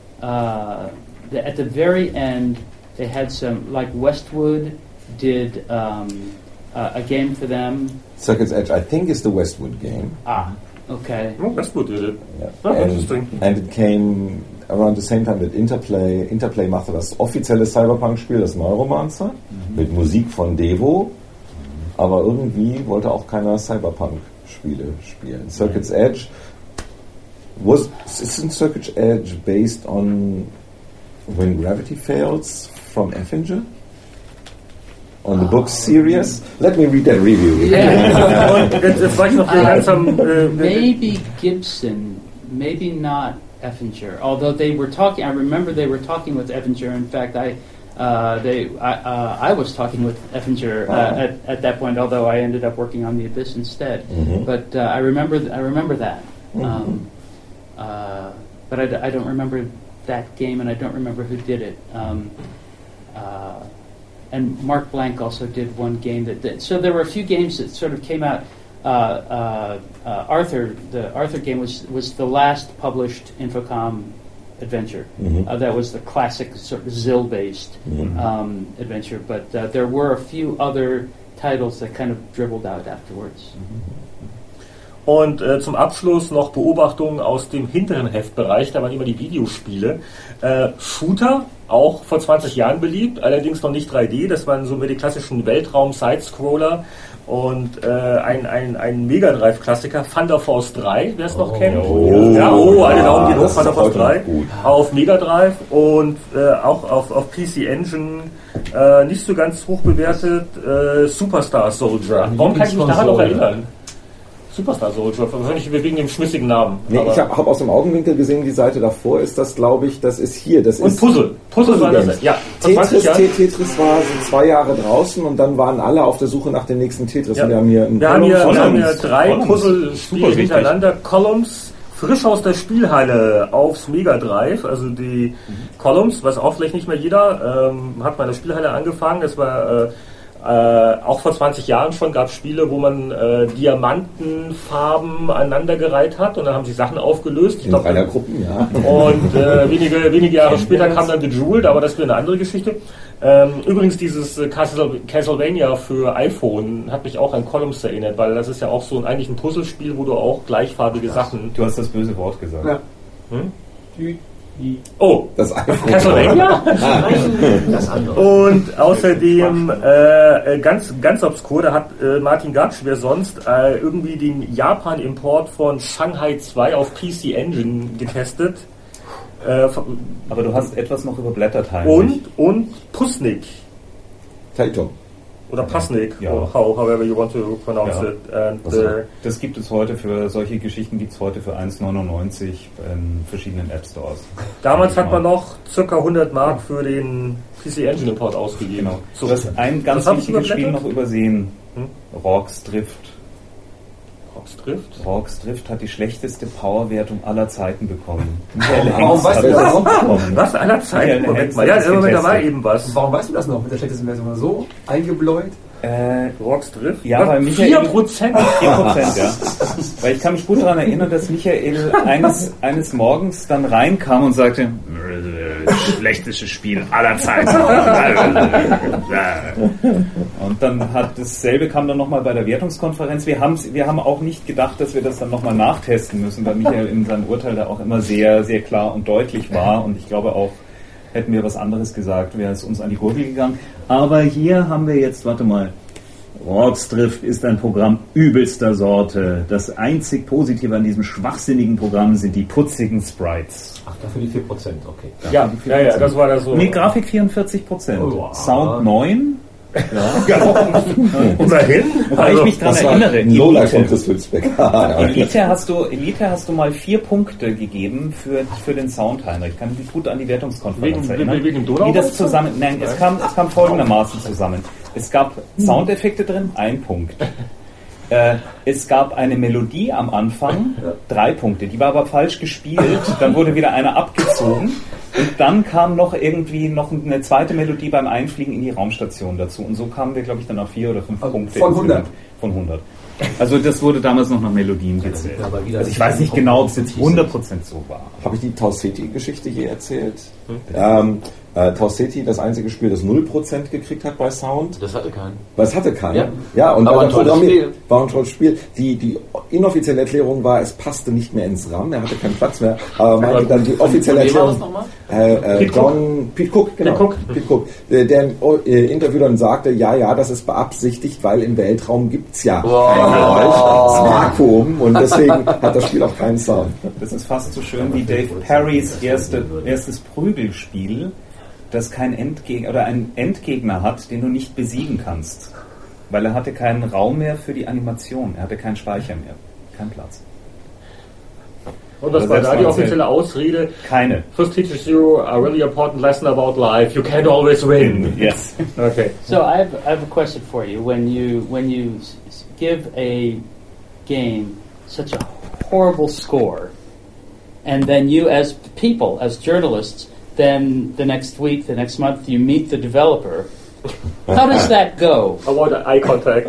Uh, the, at the very end, they had some like Westwood did um, uh, a game for them. Circuit's Edge, I think, is the Westwood game. Ah, okay. Oh, Westwood did it. Yeah. Oh, and, interesting. And it came around the same time that Interplay. Interplay machte das offizielle Cyberpunk-Spiel, das Neuromancer, mhm. mit Musik von Devo. Aber irgendwie wollte auch keiner Cyberpunk-Spiele spielen. Circuit's Edge was isn't Circuit's Edge based on When Gravity Fails from Effinger? On the book Sirius? Let me read that review. Yeah. uh, maybe Gibson, maybe not Effinger. Although they were talking, I remember they were talking with Effinger. In fact, I uh, they, I, uh, I was talking with Effinger uh, Oh. at, at that point, although I ended up working on the Abyss instead. Mhm. But uh, I remember, th- I remember that. Mhm. Um, uh, but I, d- I don't remember that game, and I don't remember who did it. Um, uh, and Mark Blank also did one game that, that. So there were a few games that sort of came out. Uh, uh, uh, Arthur, the Arthur game was was the last published Infocom adventure. Mhm. Uh, that was the classic sort of Zill-based Mhm. um, adventure. But uh, there were a few other titles that kind of dribbled out afterwards. Und äh, zum Abschluss noch Beobachtungen aus dem hinteren Heftbereich, da waren immer die Videospiele. Äh, Shooter, auch vor zwanzig Jahren beliebt, allerdings noch nicht drei D, das waren so mehr die klassischen Weltraum-Sidescroller. Und äh, ein, ein, ein Mega Drive-Klassiker, Thunder Force drei, wer es noch Oh, kennt. oh, ja, oh, alle ja, Daumen gehen hoch, das ist Thunder auch Force heute drei. noch gut. Auf Mega Drive und äh, auch auf, auf P C Engine, äh, nicht so ganz hoch bewertet, äh, Superstar Soldier. Warum kann ich mich daran noch erinnern? Superstar Soldier, wahrscheinlich wegen dem schmissigen Namen. Nee, Aber ich habe hab aus dem Augenwinkel gesehen, die Seite davor ist das, glaube ich, das ist hier. Das und ist Puzzle. Puzzle war das, Games. ja. vor zwanzig Tetris, Jahren. Te- Tetris war so zwei Jahre draußen und dann waren alle auf der Suche nach dem nächsten Tetris. Ja. Und wir haben hier einen Wir haben hier, wir haben hier Columns. drei Columns. Puzzle-Spiele Super hintereinander. Columns, frisch aus der Spielhalle aufs Mega Drive, also die Columns, was auch vielleicht nicht mehr jeder, ähm, hat bei der Spielhalle angefangen. Das war äh, äh, auch vor zwanzig Jahren schon, gab es Spiele, wo man äh, Diamantenfarben aneinandergereiht hat und dann haben sich Sachen aufgelöst. Ich in glaub, einer Gruppe, ja. Und äh, wenige, wenige Jahre später kam dann The Jewel, aber das ist wieder eine andere Geschichte. Ähm, übrigens dieses äh, Castle, Castlevania für iPhone hat mich auch an Columns erinnert, weil das ist ja auch so ein, eigentlich ein Puzzlespiel, wo du auch gleichfarbige Sachen... Du hast das böse Wort gesagt. Ja. Hm? Die, die. Oh, Das iPhone. Castlevania? Das andere. Und außerdem äh, ganz ganz obskur, da hat äh, Martin Gatsch, wer sonst, äh, irgendwie den Japan-Import von Shanghai zwei auf P C Engine getestet. Äh, Aber du hast etwas noch überblättert, Heinrich. und, und Pusnik. Taito. Oder Pasnik, Ja. or how, however you want to pronounce Ja. it. And, Also, äh, Das gibt es heute für, solche Geschichten gibt es heute für eins neunundneunzig in verschiedenen App Stores. damals hat man noch ca. hundert Mark für den P C Engine Import ausgegeben. Genau. So. Du hast ein ganz Was hab ich wichtiges Spiel überblättert? noch übersehen. Hm? Rorke's Drift. Rorke's Drift? Rorke's Drift hat die schlechteste Powerwertung aller Zeiten bekommen. Warum weißt du das noch? Was aller Zeiten? Michael Moment Hengst mal, hat ja, das im Moment, da war getestet. eben was. Warum weißt du das noch mit der schlechtesten Version? So eingebläut? Äh, Rorke's Drift? Ja, Was? weil Michael... vier Prozent? vier Prozent, ja. Weil ich kann mich gut daran erinnern, dass Michael eines, eines Morgens dann reinkam und sagte, schlechtestes Spiel aller Zeiten. Und dann hat dasselbe kam dann nochmal bei der Wertungskonferenz. Wir, haben's, wir haben auch nicht gedacht, dass wir das dann nochmal nachtesten müssen, weil Michael in seinem Urteil da auch immer sehr, sehr klar und deutlich war. Und ich glaube auch, hätten wir was anderes gesagt, wäre es uns an die Gurgel gegangen. Aber hier haben wir jetzt, warte mal, Rorke's Drift ist ein Programm übelster Sorte. Das einzig Positive an diesem schwachsinnigen Programm sind die putzigen Sprites. Ach, dafür die vier Prozent, okay. Ja, ja, ja, das war das so. Nee, Grafik vierundvierzig Prozent. Oh, wow. Sound neun. Immerhin. Wobei ich mich daran Das war erinnere. ein Lowlight von Elite, Chris Hülsbeck. Ja. Elite, hast du, Elite hast du mal vier Punkte gegeben für, für den Sound, Heinrich. Ich kann mich gut an die Wertungskonferenz Wegen- erinnern. wegen Donau- Wie das zusammen, nein, es kam, es kam folgendermaßen zusammen. Es gab Soundeffekte drin, ein Punkt. Äh, es gab eine Melodie am Anfang, drei Punkte. Die war aber falsch gespielt. Dann wurde wieder eine abgezogen. Und dann kam noch irgendwie noch eine zweite Melodie beim Einfliegen in die Raumstation dazu. Und so kamen wir, glaube ich, dann auf vier oder fünf Also Punkte. von hundert? Von hundert. Also das wurde damals noch nach Melodien gezählt. Aber wieder Also ich weiß nicht genau, ob es jetzt hundert Prozent so war. Habe ich die Tau Ceti-Geschichte je erzählt? Ähm, äh, Tau Ceti, das einzige Spiel, das null Prozent gekriegt hat bei Sound. Das hatte keinen. Weil es hatte keiner. Ja. Ja, und Aber weil ein er tolles programmiert- Spiel. war ein tolles Spiel. Die, die inoffizielle Erklärung war, es passte nicht mehr ins RAM, er hatte keinen Platz mehr. Aber meinte dann die offizielle Von wem war das Erklärung. nochmal? Äh, äh, Pete John, Pete Cook, genau. Pete Cook. Pete Cook. Der, der im äh, Interview dann sagte, ja, ja, das ist beabsichtigt, weil im Weltraum gibt's ja Wow. kein Geräusch, das Vakuum, und deswegen hat das Spiel auch keinen Sound. Das ist fast so schön wie Dave Perrys erste, erstes Prügelspiel, das kein Endgegner oder einen Endgegner hat, den du nicht besiegen kannst. Weil er hatte keinen Raum mehr für die Animation, er hatte keinen Speicher mehr, keinen Platz. Und das war da die offizielle Ausrede. Keine. First teaches you a really important lesson about life. You can't always win. Yes. Okay. So I have, I have a question for you. When you when you s- give a game such a horrible score, and then you as people, as journalists, then the next week, the next month, you meet the developer. How does that go? Avoid eye contact.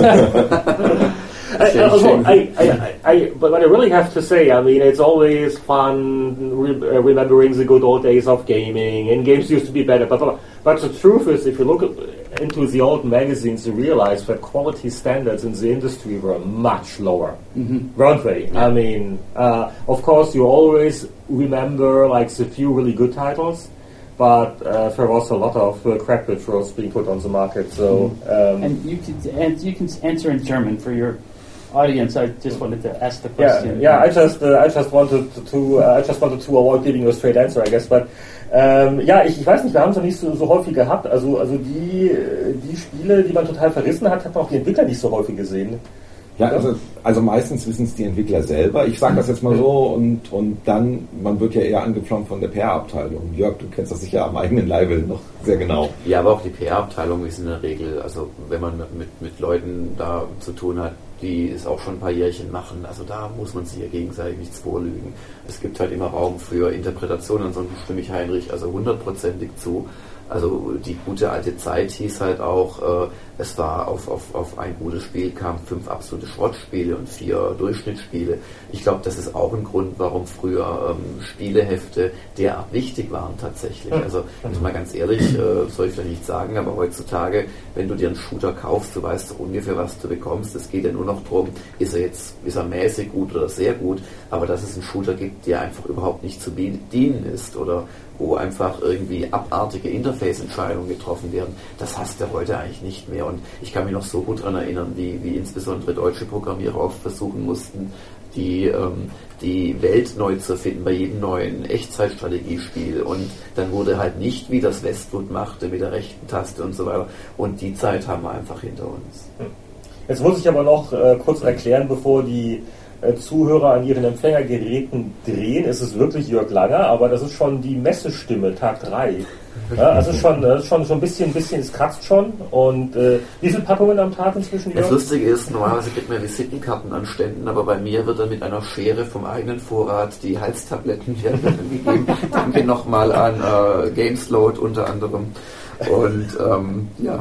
I, also, I, I, I, but what I really have to say, I mean, it's always fun re- uh, remembering the good old days of gaming, and games used to be better. But, but, but the truth is, if you look at, into the old magazines, you realize that quality standards in the industry were much lower, mm-hmm. weren't they? Yeah. I mean, uh, of course, you always remember like the few really good titles. But uh, there was a lot of uh, crap that was being put on the market. So um, and you can and you can answer in German for your audience. I just wanted to ask the question. Yeah, yeah. I just uh, I just wanted to uh, I just wanted to avoid giving you a straight answer, I guess. But ähm, ja, ich, ich weiß nicht, wir haben es noch nicht so, so häufig gehabt. Also also die die Spiele, die man total verrissen hat, hat man auch die Entwickler nicht so häufig gesehen. Ja, also, also meistens wissen es die Entwickler selber. Ich sage das jetzt mal so und, und dann, man wird ja eher angepflaumt von der P R-Abteilung. Jörg, du kennst das sicher am eigenen Leibe noch sehr genau. Ja, aber auch die P R-Abteilung ist in der Regel, also wenn man mit, mit Leuten da zu tun hat, die es auch schon ein paar Jährchen machen, also da muss man sich ja gegenseitig nichts vorlügen. Es gibt halt immer Raum für Interpretationen, ansonsten stimme ich Heinrich also hundertprozentig zu. Also die gute alte Zeit hieß halt auch, äh, es war auf, auf, auf ein gutes Spiel kamen fünf absolute Schrottspiele und vier Durchschnittsspiele. Ich glaube, das ist auch ein Grund, warum früher ähm, Spielehefte derart wichtig waren tatsächlich. Also, also mal ganz ehrlich, äh, soll ich vielleicht nicht sagen, aber heutzutage, wenn du dir einen Shooter kaufst, du weißt doch ungefähr, was du bekommst. Es geht ja nur noch darum, ist er jetzt ist er mäßig gut oder sehr gut, aber dass es einen Shooter gibt, der einfach überhaupt nicht zu bedienen ist oder wo einfach irgendwie abartige Interface-Entscheidungen getroffen werden, das hast du heute eigentlich nicht mehr. Und ich kann mich noch so gut daran erinnern, wie, wie insbesondere deutsche Programmierer oft versuchen mussten, die, ähm, die Welt neu zu erfinden bei jedem neuen Echtzeitstrategiespiel. Und dann wurde halt nicht, wie das Westwood machte, mit der rechten Taste und so weiter. Und die Zeit haben wir einfach hinter uns. Jetzt muss ich aber noch äh, kurz erklären, bevor die äh, Zuhörer an ihren Empfängergeräten drehen. Es ist wirklich Jörg Langer, aber das ist schon die Messestimme, Tag drei. Ja, also schon, das ist schon, schon ein bisschen, bisschen, es kratzt schon. Und äh, wie viele Packungen am Tag inzwischen? Das Lustige ist, normalerweise kriegt man Visitenkarten an Ständen, aber bei mir wird dann mit einer Schere vom eigenen Vorrat die Halstabletten gegeben. Danke nochmal an äh, Gamesload unter anderem. Und ähm, ja.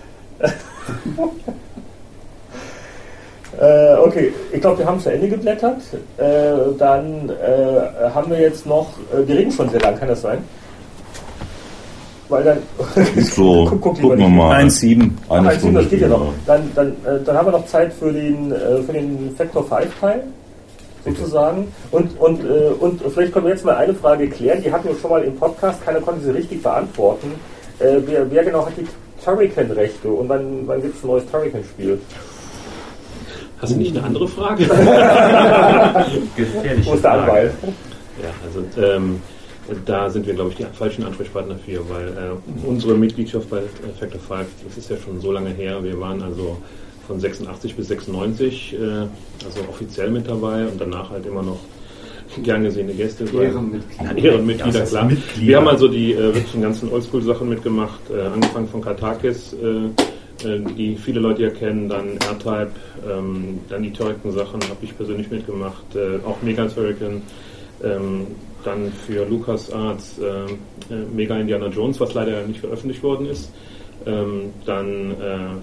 Äh, okay, ich glaube, wir haben zu Ende geblättert. Äh, dann äh, haben wir jetzt noch, äh, wir reden schon sehr lang, kann das sein? Weil dann, so, guck, guck gucken wir mal. eins Komma sieben. Eine Stunde, das geht ja noch. Dann, dann, äh, dann haben wir noch Zeit für den, äh, für den Factor fünf Teil, sozusagen. Und, und, äh, und vielleicht können wir jetzt mal eine Frage klären, die hatten wir schon mal im Podcast, keiner konnte sie richtig beantworten. Äh, wer, wer genau hat die Turrican-Rechte und wann, wann gibt es ein neues Turrican-Spiel? Hast du nicht eine andere Frage? Gefährliche Wo ist der Anwalt? Ja, also ähm, da sind wir, glaube ich, die falschen Ansprechpartner für, weil äh, unsere Mitgliedschaft bei Factor fünf, das ist ja schon so lange her, wir waren also von sechsundachtzig bis sechsundneunzig, äh, also offiziell mit dabei und danach halt immer noch gern gesehene Gäste. Ehrenmitglieder. Ja, Ehrenmitglieder, klar. Mitglieder. Wir haben also die äh, wirklich ganzen Oldschool-Sachen mitgemacht, äh, angefangen von Katakis, äh, die viele Leute ja kennen, dann R-Type, ähm, dann die Turrican-Sachen habe ich persönlich mitgemacht, äh, auch Mega Turrican, ähm, dann für LucasArts äh, äh, Mega Indiana Jones, was leider nicht veröffentlicht worden ist, ähm, dann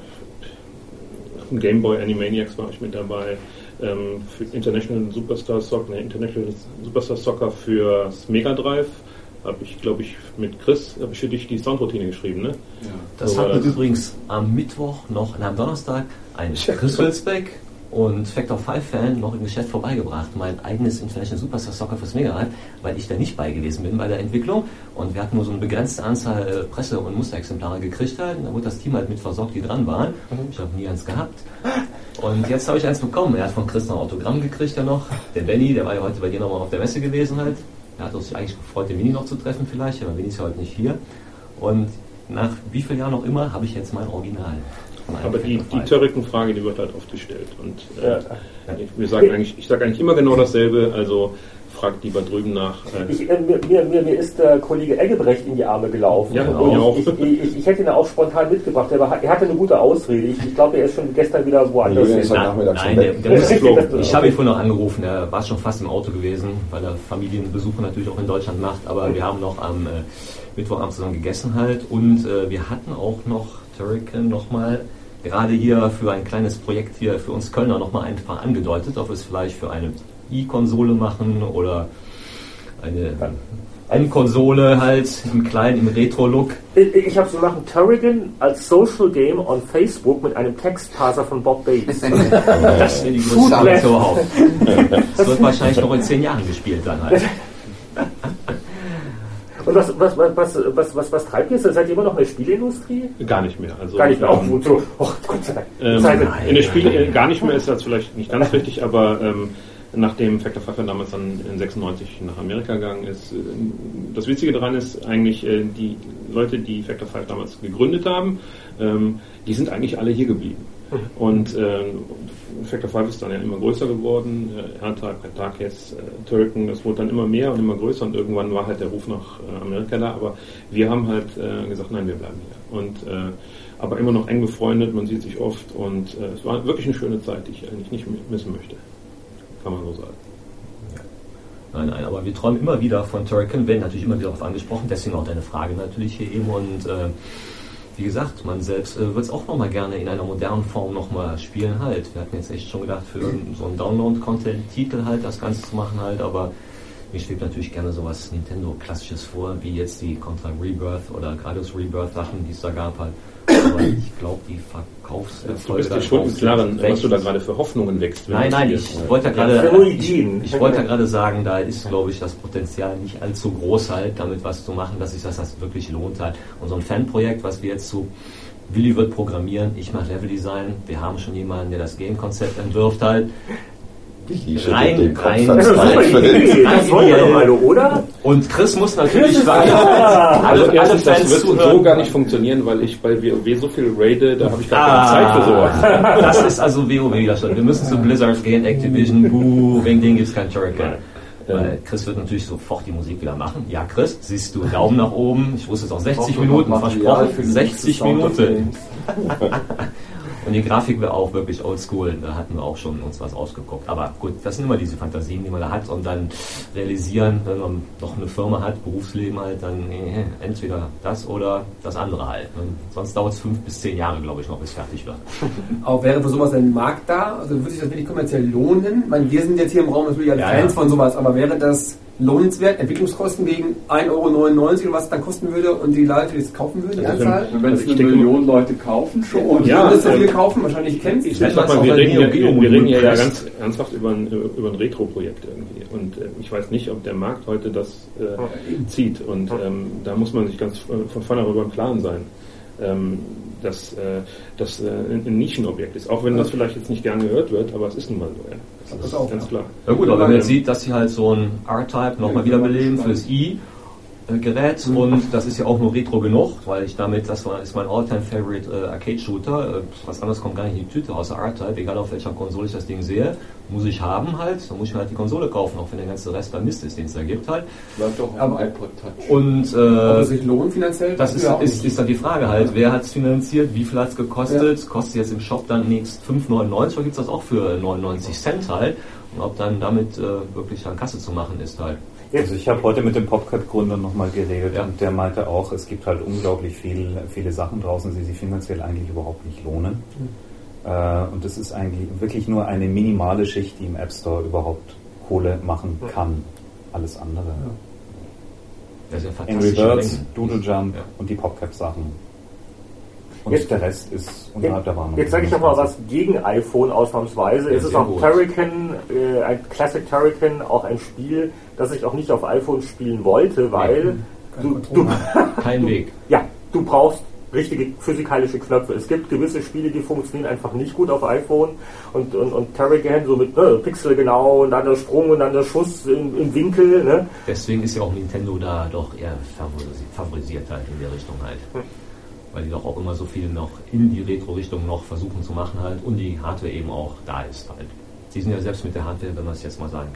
äh, Game Boy Animaniacs war ich mit dabei, ähm, für International Superstar Soccer, ne, International Superstar Soccer fürs Mega Drive. Habe ich, glaube ich, mit Chris, habe ich für dich die Soundroutine geschrieben, ne? Ja. Das so hat mir übrigens am Mittwoch noch, am Donnerstag, ein Chris Wilsbeck und Factor fünf Fan noch im Geschäft vorbeigebracht, mein eigenes International Superstar Soccer fürs Mega Drive, weil ich da nicht bei gewesen bin bei der Entwicklung und wir hatten nur so eine begrenzte Anzahl äh, Presse- und Musterexemplare gekriegt halt, und da wurde das Team halt mit versorgt, die dran waren. Ich habe nie eins gehabt. Und jetzt habe ich eins bekommen. Er hat von Chris noch ein Autogramm gekriegt ja noch. Der Benny, der war ja heute bei dir nochmal auf der Messe gewesen halt. Er hat uns eigentlich gefreut, den Winnie noch zu treffen vielleicht, aber Winnie ist ja heute nicht hier. Und nach wie vielen Jahren auch immer habe ich jetzt mein Original. Aber die, die Turrican-Frage, die wird halt oft gestellt. Und äh, ja. ich, wir sagen eigentlich, ich sage eigentlich immer genau dasselbe. Also fragt lieber drüben nach. Äh ich, äh, mir, mir, mir ist der Kollege Eggebrecht in die Arme gelaufen. Ja, und auch. Ich, ich, ich, ich hätte ihn auch spontan mitgebracht, aber er hatte eine gute Ausrede. Ich, ich glaube, er ist schon gestern wieder woanders. Ist Na, nein, der, der muss, ich habe ihn vorhin noch angerufen, er war schon fast im Auto gewesen, weil er Familienbesuche natürlich auch in Deutschland macht, aber wir haben noch am äh, Mittwochabend zusammen gegessen halt und äh, wir hatten auch noch Turrican nochmal gerade hier für ein kleines Projekt hier für uns Kölner nochmal einfach angedeutet, ob wir es vielleicht für eine E-Konsole machen oder eine N-Konsole halt im kleinen, im Retro-Look. Ich, ich habe so machen Turrican als Social Game on Facebook mit einem Textparser von Bob Bates. Das wäre die größte Arbeit überhaupt. Das wird wahrscheinlich noch in zehn Jahren gespielt dann halt. Und was, was, was, was, was, was treibt ihr? Seid ihr immer noch in der Spieleindustrie? Gar nicht mehr. Also, gar nicht mehr. Ähm, oh, so. oh, Gott sei Dank. Ähm, in der Spiele gar nicht mehr ist das vielleicht nicht ganz richtig, aber ähm, nachdem Factor Five damals dann in sechsundneunzig nach Amerika gegangen ist, äh, das Witzige daran ist eigentlich, äh, die Leute, die Factor Five damals gegründet haben, ähm, die sind eigentlich alle hier geblieben. Und äh, Factor Five ist dann ja immer größer geworden, äh, R-Type, Katakes, äh, Turrican, das wurde dann immer mehr und immer größer und irgendwann war halt der Ruf nach äh, Amerika da, aber wir haben halt äh, gesagt, nein, wir bleiben hier. Und äh, aber immer noch eng befreundet, man sieht sich oft und äh, es war wirklich eine schöne Zeit, die ich eigentlich nicht missen möchte. Kann man so sagen. Nein, nein, aber wir träumen immer wieder von Turrican, werden natürlich immer wieder darauf angesprochen, deswegen auch deine Frage natürlich hier eben und äh, wie gesagt, man selbst äh, wird es auch nochmal gerne in einer modernen Form nochmal spielen halt. Wir hatten jetzt echt schon gedacht, für so einen Download-Content-Titel halt das Ganze zu machen halt, aber mir schwebt natürlich gerne sowas Nintendo-Klassisches vor, wie jetzt die Contra Rebirth oder Gradius Rebirth Sachen, die es da gab halt. Aber ich glaube, die Verkaufserfolge... Du bist dir schon im Klaren, was du da gerade für Hoffnungen wächst. Nein, nein, ich wollte ja gerade ich wollte ja gerade sagen, da ist, glaube ich, das Potenzial nicht allzu groß halt, damit was zu machen, dass sich das, das wirklich lohnt halt. Und so ein Fanprojekt, was wir jetzt zu Willi wird programmieren, ich mache Leveldesign, wir haben schon jemanden, der das Game-Konzept entwirft halt. Rein, rein, das wollen wir doch alle, oder? Und Chris muss natürlich sagen, also alle, alle Fans das wird so gar nicht funktionieren, weil ich bei WoW so viel raide, da habe ich gar keine ah, Zeit für sowas. Das ist also WoW wieder schon. Wir müssen zu Blizzard gehen, Activision, buh, wegen denen gibt es kein Turrican. Weil Chris wird natürlich sofort die Musik wieder machen. Ja, Chris, siehst du, Daumen nach oben. Ich wusste es auch sechzig Minuten versprochen. sechzig Minuten. Und die Grafik wäre auch wirklich oldschool, da hatten wir auch schon uns was ausgeguckt. Aber gut, das sind immer diese Fantasien, die man da hat und dann realisieren, wenn man noch eine Firma hat, Berufsleben halt, dann äh, entweder das oder das andere halt. Und sonst dauert es fünf bis zehn Jahre, glaube ich, noch bis fertig wird. Auch wäre für sowas ein Markt da? Also würde sich das wirklich kommerziell lohnen? Ich meine, wir sind jetzt hier im Raum natürlich alle ja, Fans ja. von sowas, aber wäre das lohnenswert, Entwicklungskosten gegen ein Euro neunundneunzig oder was es dann kosten würde und die Leute, die es kaufen würden, die Anzahl? Wenn es eine Million Leute kaufen, schon. Ja, das so viele kaufen, wahrscheinlich kennt sie. Ich sag mal, wir reden, ja, wir, wir reden ja, ja ganz ernsthaft über ein, über ein Retro-Projekt irgendwie und äh, ich weiß nicht, ob der Markt heute das äh, zieht und ähm, da muss man sich ganz von vornherein darüber im Klaren sein. Ähm, dass äh, das äh, ein Nischenobjekt ist, auch wenn das vielleicht jetzt nicht gern gehört wird, aber es ist nun mal so. Ja. Das, das ist auch, ganz klar. Ja gut, aber wenn man jetzt sieht, dass sie halt so ein R-Type nochmal wiederbeleben fürs I Gerät mhm. und das ist ja auch nur retro genug, weil ich damit, das war, ist mein All-Time-Favorite äh, Arcade-Shooter, äh, was anderes kommt gar nicht in die Tüte außer R-Type, egal auf welcher Konsole ich das Ding sehe, muss ich haben halt, dann muss ich mir halt die Konsole kaufen, auch wenn der ganze Rest da Mist ist, den es da gibt halt. Bleibt doch am iPod Touch. Und äh, ob es sich lohnt finanziell? Das ist, ist, ist dann die Frage halt, wer hat es finanziert, wie viel hat es gekostet, ja. Kostet jetzt im Shop dann nächst fünf neunundneunzig oder gibt es das auch für neunundneunzig Cent halt und ob dann damit äh, wirklich an Kasse zu machen ist halt. Also ich habe heute mit dem PopCat-Gründer nochmal geredet ja. und der meinte auch, es gibt halt unglaublich viel, viele Sachen draußen, die sich finanziell eigentlich überhaupt nicht lohnen. Mhm. Äh, und das ist eigentlich wirklich nur eine minimale Schicht, die im App Store überhaupt Kohle machen kann. Alles andere. Ja. Das ist ja Angry Birds, Doodle Jump ja. und die PopCap-Sachen. Und jetzt, der Rest ist unterhalb der Warnung. Jetzt sage ich doch mal was gegen iPhone ausnahmsweise. Ja, es ist auch Turrican, äh, ein Classic Turrican, auch ein Spiel, das ich auch nicht auf iPhone spielen wollte, weil ja, du, du kein du, Weg. Ja, du brauchst richtige physikalische Knöpfe. Es gibt gewisse Spiele, die funktionieren einfach nicht gut auf iPhone und, und, und Turrican so mit ne, Pixel genau und dann der Sprung und dann der Schuss im, im Winkel. Ne? Deswegen ist ja auch Nintendo da doch eher favorisiert halt in der Richtung halt. Hm. Weil die doch auch immer so viel noch in die Retro-Richtung noch versuchen zu machen halt und die Hardware eben auch da ist halt. Die sind ja selbst mit der Hardware, wenn man es jetzt mal sagen kann,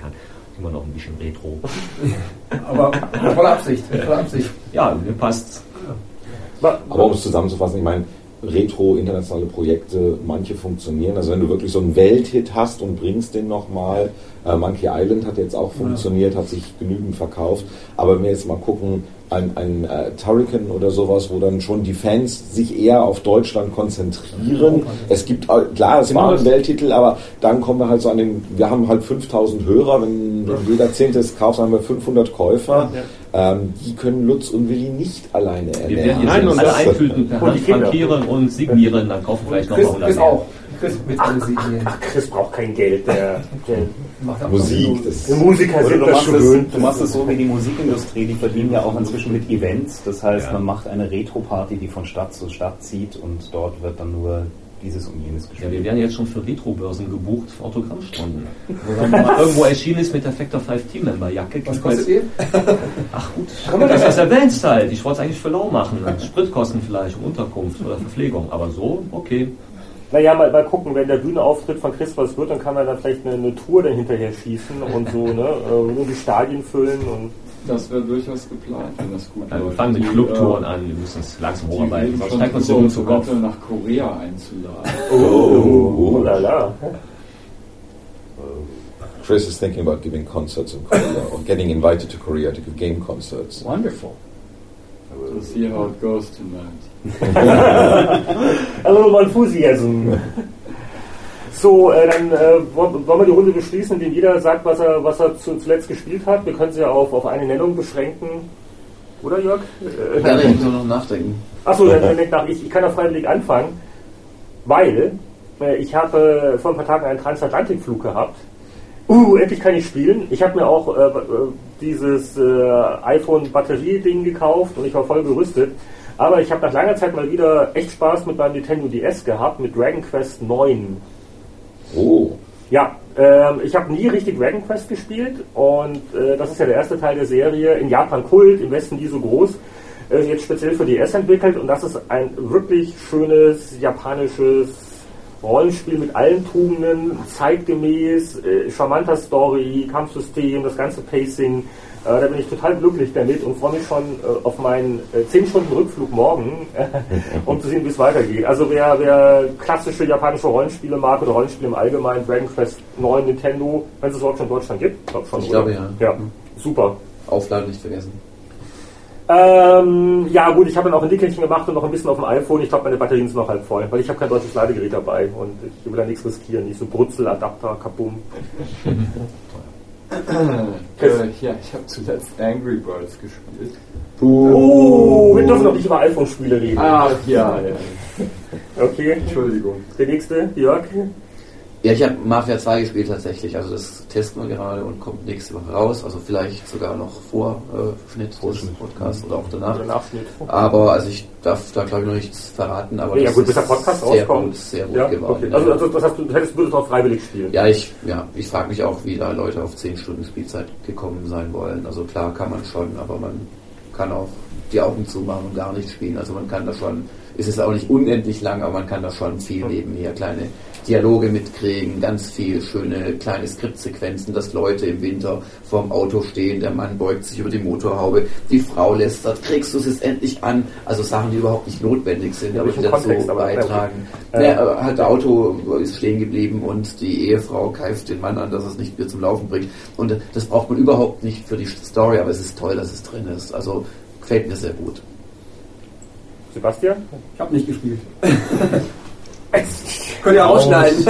immer noch ein bisschen Retro. Aber volle Absicht, volle Absicht. Ja, mir passt's. Aber um es zusammenzufassen, ich meine, Retro, internationale Projekte, manche funktionieren. Also wenn du wirklich so einen Welthit hast und bringst den nochmal, äh, Monkey Island hat jetzt auch funktioniert, hat sich genügend verkauft. Aber wenn wir jetzt mal gucken, ein, ein äh, Turrican oder sowas, wo dann schon die Fans sich eher auf Deutschland konzentrieren. Es gibt, klar, es war ein Welttitel, aber dann kommen wir halt so an den, wir haben halt fünftausend Hörer, wenn, wenn jeder Zehnte es kauft, haben wir fünfhundert Käufer. Ja. Ähm, die können Lutz und Willi nicht alleine ernähren. Wir werden jetzt uns alle eintüten, per Hand frankieren und signieren, dann kaufen vielleicht noch mal hundert Chris mehr. auch. Chris, mit ach, ach, ach, Chris braucht kein Geld. Der, der macht Musik. Das die Musiker sind du das machst schon es, gewöhnt. Du machst es so wie die Musikindustrie, die verdienen ja auch inzwischen mit Events. Das heißt, Ja. man macht eine Retro-Party, die von Stadt zu Stadt zieht und dort wird dann nur dieses und jenes gespielt. Ja, wir werden jetzt schon für Retro-Börsen gebucht für Autogrammstunden. Wo dann mal irgendwo erschienen ist mit der Factor fünf Team-Member-Jacke. Was kostet ihr? Ach gut, das ist erwähnt halt. Ich wollte es eigentlich für lau machen. Spritkosten vielleicht und Unterkunft oder Verpflegung. Aber so, okay. Naja, mal, mal gucken, wenn der Bühnenauftritt von Chris was wird, dann kann man dann vielleicht eine, eine Tour dann hinterher schießen und so, ne, äh, die Stadien füllen und. Das wäre durchaus geplant, wenn das gut Also wir läuft. fangen mit Die, Clubtouren äh, an, wir müssen es langsam Die hocharbeiten. reden Sonst schon steigt uns drüber, der uns zu Kopf. eventuell nach Korea einzuladen. Oh, oh la la. Chris is thinking about giving concerts in Korea or getting invited to Korea to give game concerts. Wonderful. To see how it goes tonight. A little enthusiasm. So, äh, dann äh, wollen wir die Runde beschließen, indem jeder sagt, was er, was er zu, zuletzt gespielt hat. Wir können sie ja auf, auf eine Nennung beschränken. Oder, Jörg? Äh, Ja, ich muss noch nachdenken. Achso, dann, dann denk nach. Ich, ich kann ja freiwillig anfangen, weil äh, ich habe äh, vor ein paar Tagen einen Transatlantikflug gehabt. Uh, endlich kann ich spielen. Ich habe mir auch äh, dieses äh, iPhone-Batterie-Ding gekauft und ich war voll gerüstet. Aber ich habe nach langer Zeit mal wieder echt Spaß mit meinem Nintendo D S gehabt, mit Dragon Quest neun. Oh. Ja, ähm, ich habe nie richtig Dragon Quest gespielt und äh, das ist ja der erste Teil der Serie. In Japan Kult, im Westen nie so groß. Äh, jetzt speziell für D S entwickelt und das ist ein wirklich schönes japanisches Rollenspiel mit allen Tugenden, zeitgemäß, äh, charmanter Story, Kampfsystem, das ganze Pacing. Äh, da bin ich total glücklich damit und freue mich schon äh, auf meinen äh, zehn Stunden Rückflug morgen, äh, um zu sehen, wie es weitergeht. Also wer, wer klassische japanische Rollenspiele mag oder Rollenspiele im Allgemeinen, Dragon Quest neun, Nintendo, wenn es es überhaupt schon in Deutschland gibt, glaub schon, Ich oder? glaube ja. Ja, super. Aufladen nicht vergessen. Ähm, ja gut, ich habe dann auch ein Nickelchen gemacht und noch ein bisschen auf dem iPhone. Ich glaube, meine Batterien sind noch halb voll, weil ich habe kein deutsches Ladegerät dabei und ich will da nichts riskieren. Nicht so Brutzel, Adapter, Kabum. äh, ja, ich habe zuletzt Angry Birds gespielt. Oh, wir dürfen noch nicht über iPhone-Spiele reden. Ach ja, ja. Okay. Entschuldigung. Der nächste, Jörg. Ja, ich habe Mafia zwei gespielt tatsächlich, also das testen wir gerade und kommt nächste Woche raus, also vielleicht sogar noch vor äh, Schnitt des Podcasts oder auch danach. Oder Nachschnitt. Aber also ich darf da glaube ich noch nichts verraten, aber Ja, das gut, bis der ist Podcast sehr rauskommt. gut, sehr gut Ja, geworden. okay. Also, also das heißt, du hättest, würdest auch freiwillig spielen. Ja, ich, ja, ich frage mich auch, wie da Leute auf zehn Stunden Spielzeit gekommen sein wollen. Also klar kann man schon, aber man kann auch die Augen zumachen und gar nicht spielen. Also man kann da schon, es ist auch nicht unendlich lang, aber man kann da schon viel nebenher kleine Dialoge mitkriegen, ganz viel schöne kleine Skriptsequenzen, dass Leute im Winter vorm Auto stehen, der Mann beugt sich über die Motorhaube, die Frau lästert, kriegst du es jetzt endlich an? Also Sachen, die überhaupt nicht notwendig sind, Ja, aber die welchen dazu Kontext, aber- beitragen. Ja. Ja, aber halt, das Auto ist stehen geblieben und die Ehefrau keift den Mann an, dass er es nicht mehr zum Laufen bringt. Und das braucht man überhaupt nicht für die Story, aber es ist toll, dass es drin ist. Also gefällt mir sehr gut. Sebastian? Ich habe nicht gespielt. Könnt ihr ausschneiden.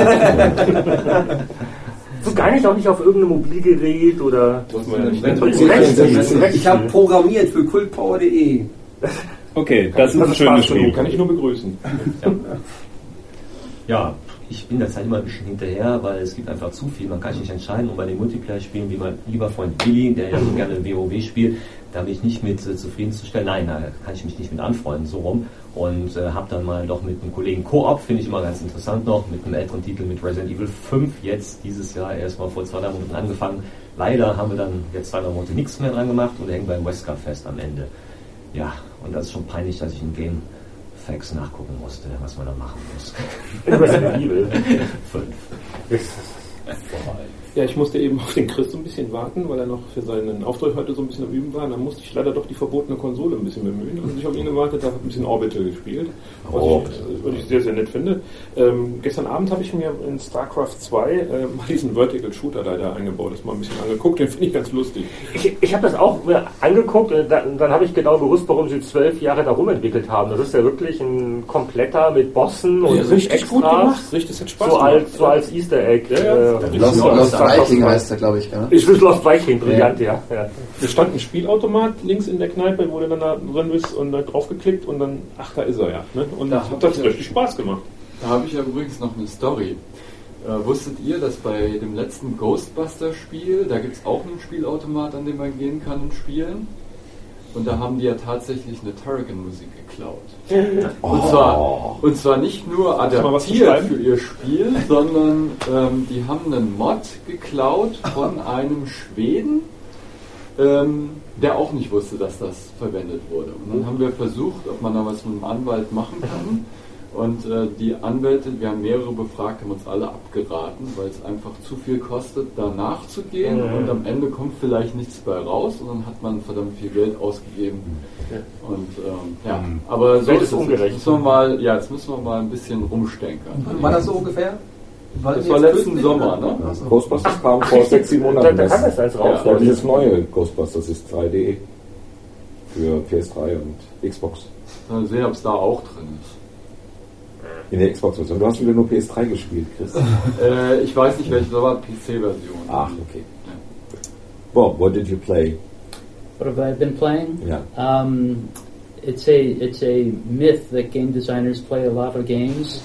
So gar nicht auch nicht auf irgendeinem Mobilgerät oder. Ich habe programmiert für kultpower punkt de. Okay, das ist ein schönes Spiel. Kann ich nur begrüßen. Ja. Ja, ich bin der Zeit immer ein bisschen hinterher, weil es gibt einfach zu viel. Man kann sich nicht entscheiden und bei den Multiplayer-Spielen, wie mein lieber Freund Billy, der ja so gerne WoW spielt, da bin ich nicht mit äh, zufriedenzustellen. Nein, da kann ich mich nicht mit anfreunden, so rum. Und äh, habe dann mal doch mit einem Kollegen Koop, finde ich immer ganz interessant noch, mit einem älteren Titel mit Resident Evil fünf, jetzt dieses Jahr erst mal vor zwei, drei Monaten angefangen. Leider haben wir dann jetzt zwei, drei Monate nichts mehr dran gemacht und hängen beim Westcard fest am Ende. Ja, und das ist schon peinlich, dass ich in Game Facts nachgucken musste, was man da machen muss. Resident Evil fünf. Ja, ich musste eben auf den Chris so ein bisschen warten, weil er noch für seinen Auftritt heute so ein bisschen am Üben war. Und dann musste ich leider doch die verbotene Konsole ein bisschen bemühen. Und ich auf ihn gewartet habe, ein bisschen Orbital gespielt, was, oh. ich, was ich sehr, sehr nett finde. Ähm, gestern Abend habe ich mir in StarCraft zwei äh, mal diesen Vertical Shooter leider eingebaut. Das mal ein bisschen angeguckt, den finde ich ganz lustig. Ich, ich habe das auch mir angeguckt und dann, dann habe ich genau gewusst, warum sie zwölf Jahre darum entwickelt haben. Das ist ja wirklich ein kompletter mit Bossen und ja, richtig Extras, gut gemacht. Richtig, das hat Spaß so gemacht. Als, so als Easter Egg. Ja, ja. Äh, Lost, Lost Viking heißt er, glaube ich. Ja? Ich will Lost Viking, brillant, ja. ja. ja. Da stand ein Spielautomat links in der Kneipe, wo du dann da drin bist und da draufgeklickt und dann, ach, da ist er ja. Ne? Und da hat das ja richtig Spaß gemacht. Da habe ich ja übrigens noch eine Story. Äh, wusstet ihr, dass bei dem letzten Ghostbuster-Spiel, da gibt es auch einen Spielautomat, an dem man gehen kann und spielen? Und da haben die ja tatsächlich eine Turrican-Musik geklaut. Oh. Und, zwar, und zwar nicht nur adaptiert für ihr Spiel, sondern ähm, die haben einen Mod geklaut von einem Schweden, ähm, der auch nicht wusste, dass das verwendet wurde. Und dann haben wir versucht, ob man da was mit dem Anwalt machen kann. Und äh, die Anwälte, wir haben mehrere befragt, haben uns alle abgeraten, weil es einfach zu viel kostet, da nachzugehen mhm. und am Ende kommt vielleicht nichts bei raus und dann hat man verdammt viel Geld ausgegeben. Ja. Und ähm, ja, mhm. aber so ist es ungerecht. Jetzt müssen wir mal, ja, jetzt müssen wir mal ein bisschen rumstenkern. Und war das so ungefähr? Weil das war letzten Sommer, ne? Ja. Ghostbusters kam vor sechs, sieben Monaten. Da, da kann das eins raus. Ja, dieses neue Ghostbusters ist drei D für P S drei und Xbox. Mal sehen, ob es da auch drin ist. In der Xbox-Version. Du hast wieder nur P S drei gespielt, Chris. äh, ich weiß nicht, welche, das war P C-Version. Ach, okay. Ja. Bob, what did you play? What have I been playing? Yeah. Um, it's a it's a myth that game designers play a lot of games.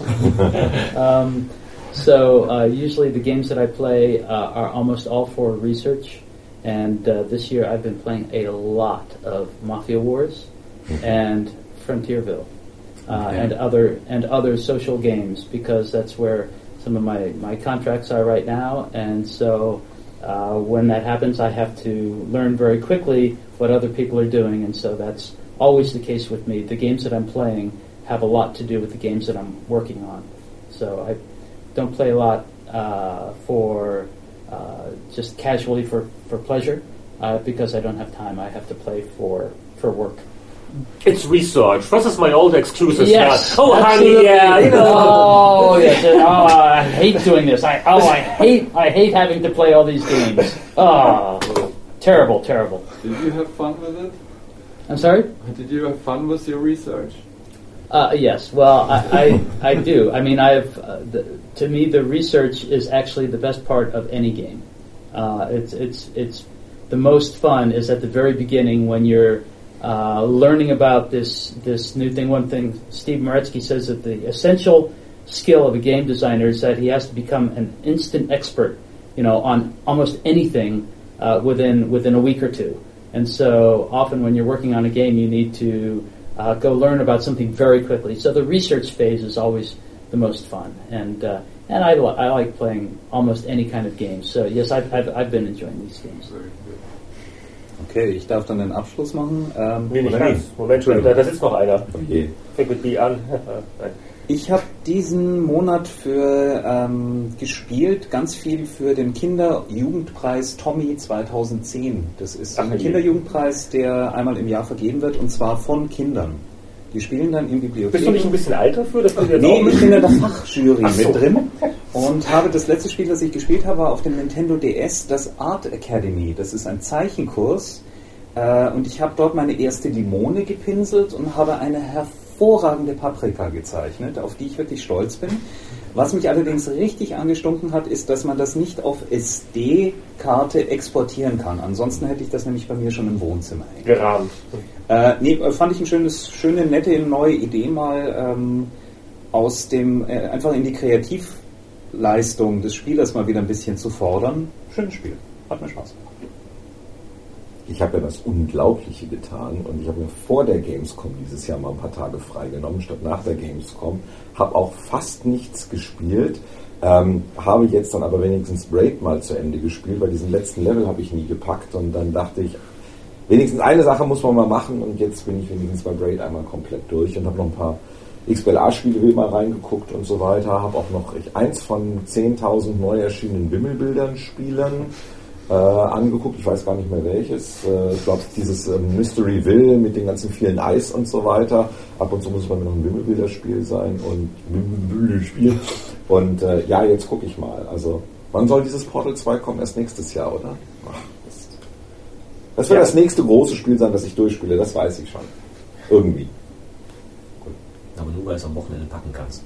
um, so uh, usually the games that I play uh, are almost all for research. And uh, this year I've been playing a lot of Mafia Wars and Frontierville. Uh, okay. and other and other social games, because that's where some of my, my contracts are right now, and so uh, when that happens I have to learn very quickly what other people are doing, and so that's always the case with me. The games that I'm playing have a lot to do with the games that I'm working on, so I don't play a lot uh, for uh, just casually for, for pleasure, uh, because I don't have time. I have to play for, for work. It's research. This is my old exclusive. Yes. Oh, absolutely. honey, yeah, you know. Oh, yes. Oh, I hate doing this. I oh, I hate I hate having to play all these games. Oh, terrible, terrible. Did you have fun with it? I'm sorry? Did you have fun with your research? Uh, yes. Well, I, I I do. I mean, I've uh, the, to me the research is actually the best part of any game. Uh, it's it's it's the most fun is at the very beginning when you're Uh, learning about this this new thing. One thing Steve Maretsky says that the essential skill of a game designer is that he has to become an instant expert, you know, on almost anything uh, within within a week or two. And so often when you're working on a game, you need to uh, go learn about something very quickly. So the research phase is always the most fun, and uh, and I, li- I like playing almost any kind of game. So yes, I've I've, I've been enjoying these games. Okay, ich darf dann den Abschluss machen. Ähm, nee, nicht ganz. Moment, da, da sitzt noch einer. Okay. Fängt mit B an. Ich habe diesen Monat für ähm, gespielt, ganz viel für den Kinder-Jugendpreis Tommy zweitaudzehn. Das ist ein Kinderjugendpreis, der einmal im Jahr vergeben wird, und zwar von Kindern. Die spielen dann im Bibliothek. Bist du nicht ein bisschen alt dafür? Das jetzt nee, auch ich bin in der Fachjury so. mit drin und habe das letzte Spiel, das ich gespielt habe, war auf dem Nintendo D S, das Art Academy. Das ist ein Zeichenkurs äh, und ich habe dort meine erste Limone gepinselt und habe eine hervorragende Paprika gezeichnet, auf die ich wirklich stolz bin. Was mich allerdings richtig angestunken hat, ist, dass man das nicht auf S D-Karte exportieren kann. Ansonsten hätte ich das nämlich bei mir schon im Wohnzimmer hängen. Gerahmt. Äh, nee, fand ich ein schönes, schöne, nette, neue Idee mal ähm, aus dem, äh, einfach in die Kreativleistung des Spielers mal wieder ein bisschen zu fordern. Schönes Spiel. Hat mir Spaß gemacht. Ich habe ja das Unglaubliche getan und ich habe mir vor der Gamescom dieses Jahr mal ein paar Tage freigenommen, statt nach der Gamescom. Habe auch fast nichts gespielt, ähm, habe jetzt dann aber wenigstens Braid mal zu Ende gespielt, weil diesen letzten Level habe ich nie gepackt und dann dachte ich, wenigstens eine Sache muss man mal machen und jetzt bin ich wenigstens bei Braid einmal komplett durch und habe noch ein paar X B L A-Spiele will mal reingeguckt und so weiter. Habe auch noch ich, eins von zehntausend neu erschienenen Wimmelbildern Spielen äh, angeguckt. Ich weiß gar nicht mehr welches. Äh, ich glaube, dieses äh, Mysteryville mit den ganzen vielen Eis und so weiter. Ab und zu muss es bei mir noch ein Wimmelbilderspiel sein und Wimmelbilderspiel. Und äh, ja, jetzt gucke ich mal. Also, wann soll dieses Portal zwei kommen? Erst nächstes Jahr, oder? Ach, das das wird ja das nächste große Spiel sein, das ich durchspiele. Das weiß ich schon. Irgendwie. Aber nur, weil du es am Wochenende packen kannst.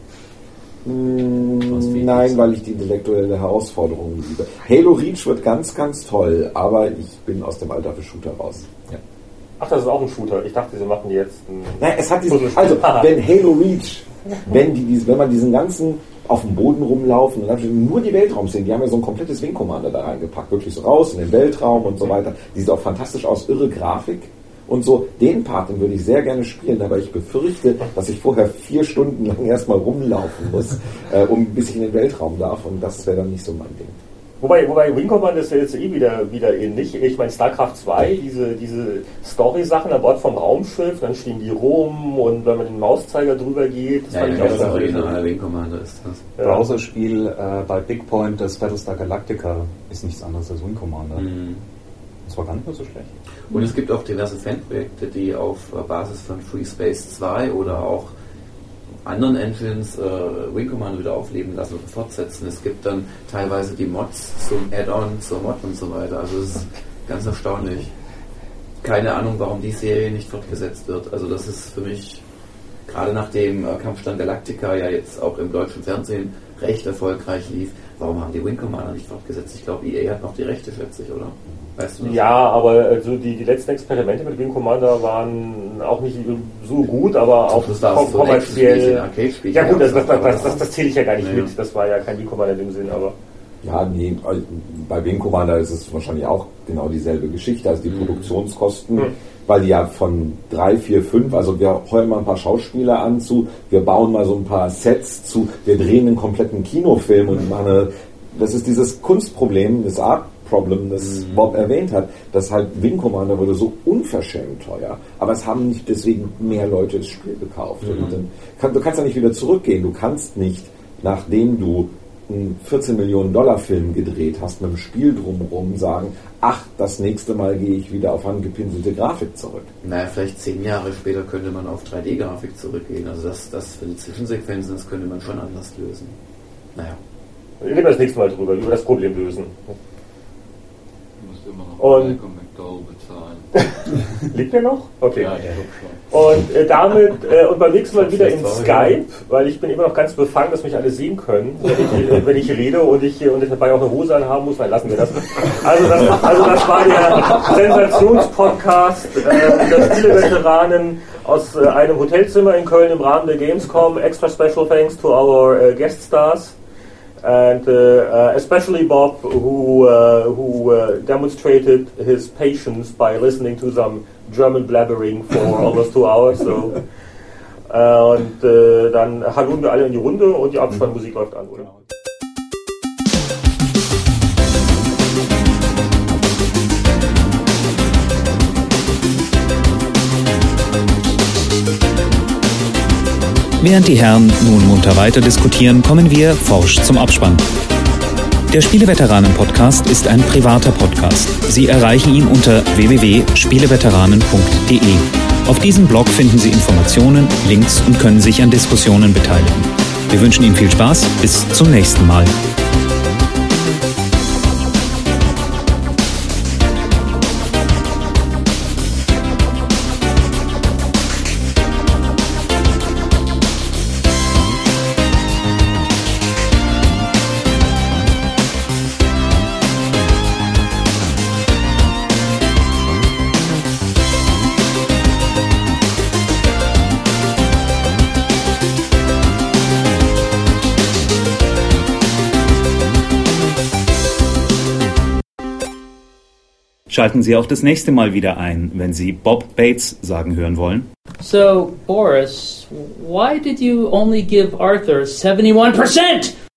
Mm, nein, weil ich die intellektuelle Herausforderung liebe. Halo Reach wird ganz, ganz toll, aber ich bin aus dem Alter für Shooter raus. Ja. Ach, das ist auch ein Shooter. Ich dachte, sie machen jetzt einen... Nein, es hat diesen, also, wenn Halo Reach, wenn, die, wenn man diesen ganzen auf dem Boden rumlaufen und dann nur die Weltraumszenen, die haben ja so ein komplettes Wing Commander da reingepackt, wirklich so raus in den Weltraum und so weiter. Die sieht auch fantastisch aus, irre Grafik. Und so, den Part, den würde ich sehr gerne spielen, aber ich befürchte, dass ich vorher vier Stunden lang erstmal rumlaufen muss, äh, um bis ich in den Weltraum darf, und das wäre dann nicht so mein Ding. Wobei, wobei Wing Commander ist ja jetzt eh wieder, wieder ähnlich. Ich meine, StarCraft zwei, diese, diese Story-Sachen an Bord vom Raumschiff, dann stehen die rum und wenn man den Mauszeiger drüber geht, das ja, fand ja, ich auch das originale Wing Commander ist das. Ja. Browserspiel äh, bei Big Point, das Battlestar Galactica, ist nichts anderes als Wing Commander. Mhm. Das war gar nicht mehr so schlecht. Und es gibt auch diverse Fanprojekte, die auf Basis von Free Space zwei oder auch anderen Engines äh, Wing Commander wieder aufleben lassen und fortsetzen. Es gibt dann teilweise die Mods zum Add-on, zur Mod und so weiter. Also es ist ganz erstaunlich. Keine Ahnung, warum die Serie nicht fortgesetzt wird. Also das ist für mich, gerade nachdem äh, Kampfstand Galactica ja jetzt auch im deutschen Fernsehen recht erfolgreich lief, warum haben die Wing Commander nicht fortgesetzt? Ich glaube, E A hat noch die Rechte, schätze ich, oder? Weißt du das? Ja, aber also die, die letzten Experimente mit Wing Commander waren auch nicht so gut, aber auch das war kommerziell. So Arcade-Spiel. Ja gut, das, das, das, das, das zähle ich ja gar nicht ja. mit. Das war ja kein Wing Commander in dem Sinn, aber... Ja, nee, bei Wing Commander ist es wahrscheinlich auch genau dieselbe Geschichte, also die mhm. Produktionskosten, mhm. weil die ja von drei, vier, fünf, also wir heulen mal ein paar Schauspieler an zu, wir bauen mal so ein paar Sets zu, wir drehen einen kompletten Kinofilm und machen eine, das ist dieses Kunstproblem, das Art-Problem, das mhm. Bob erwähnt hat, dass halt Wing Commander wurde so unverschämt teuer, aber es haben nicht deswegen mehr Leute das Spiel gekauft. Mhm. Und dann kann, du kannst ja nicht wieder zurückgehen, du kannst nicht, nachdem du einen vierzehn Millionen Dollar Film gedreht hast, mit dem Spiel drumherum sagen, ach, das nächste Mal gehe ich wieder auf angepinselte Grafik zurück. Naja, vielleicht zehn Jahre später könnte man auf drei D Grafik zurückgehen. Also das, das für die Zwischensequenzen, das könnte man schon anders lösen. Naja. Wir reden das nächste Mal drüber, über das Problem lösen. Du musst immer noch und McDowell bezahlen. Liegt der noch? Okay. Ja, der schon. Und äh, damit, äh, und beim nächsten Mal wieder in Skype, weil ich bin immer noch ganz befangen, dass mich alle sehen können, wenn ich, äh, wenn ich rede und ich, und ich dabei auch eine Hose anhaben muss, dann lassen wir das. Also das, also das war der Sensationspodcast äh, der Spieleveteranen aus äh, einem Hotelzimmer in Köln im Rahmen der Gamescom. Extra special thanks to our uh, guest stars. And uh, uh, especially Bob, who uh, who uh, demonstrated his patience by listening to some German blabbering for almost two hours. So, uh, und uh, dann hallen wir alle in die Runde und die Abspannmusik läuft an, oder? Während die Herren nun munter weiter diskutieren, kommen wir forsch zum Abspann. Der Spieleveteranen-Podcast ist ein privater Podcast. Sie erreichen ihn unter w w w punkt spieleveteranen punkt d e. Auf diesem Blog finden Sie Informationen, Links und können sich an Diskussionen beteiligen. Wir wünschen Ihnen viel Spaß. Bis zum nächsten Mal. Schalten Sie auch das nächste Mal wieder ein, wenn Sie Bob Bates sagen hören wollen. So, Boris, why did you only give Arthur seventy-one percent?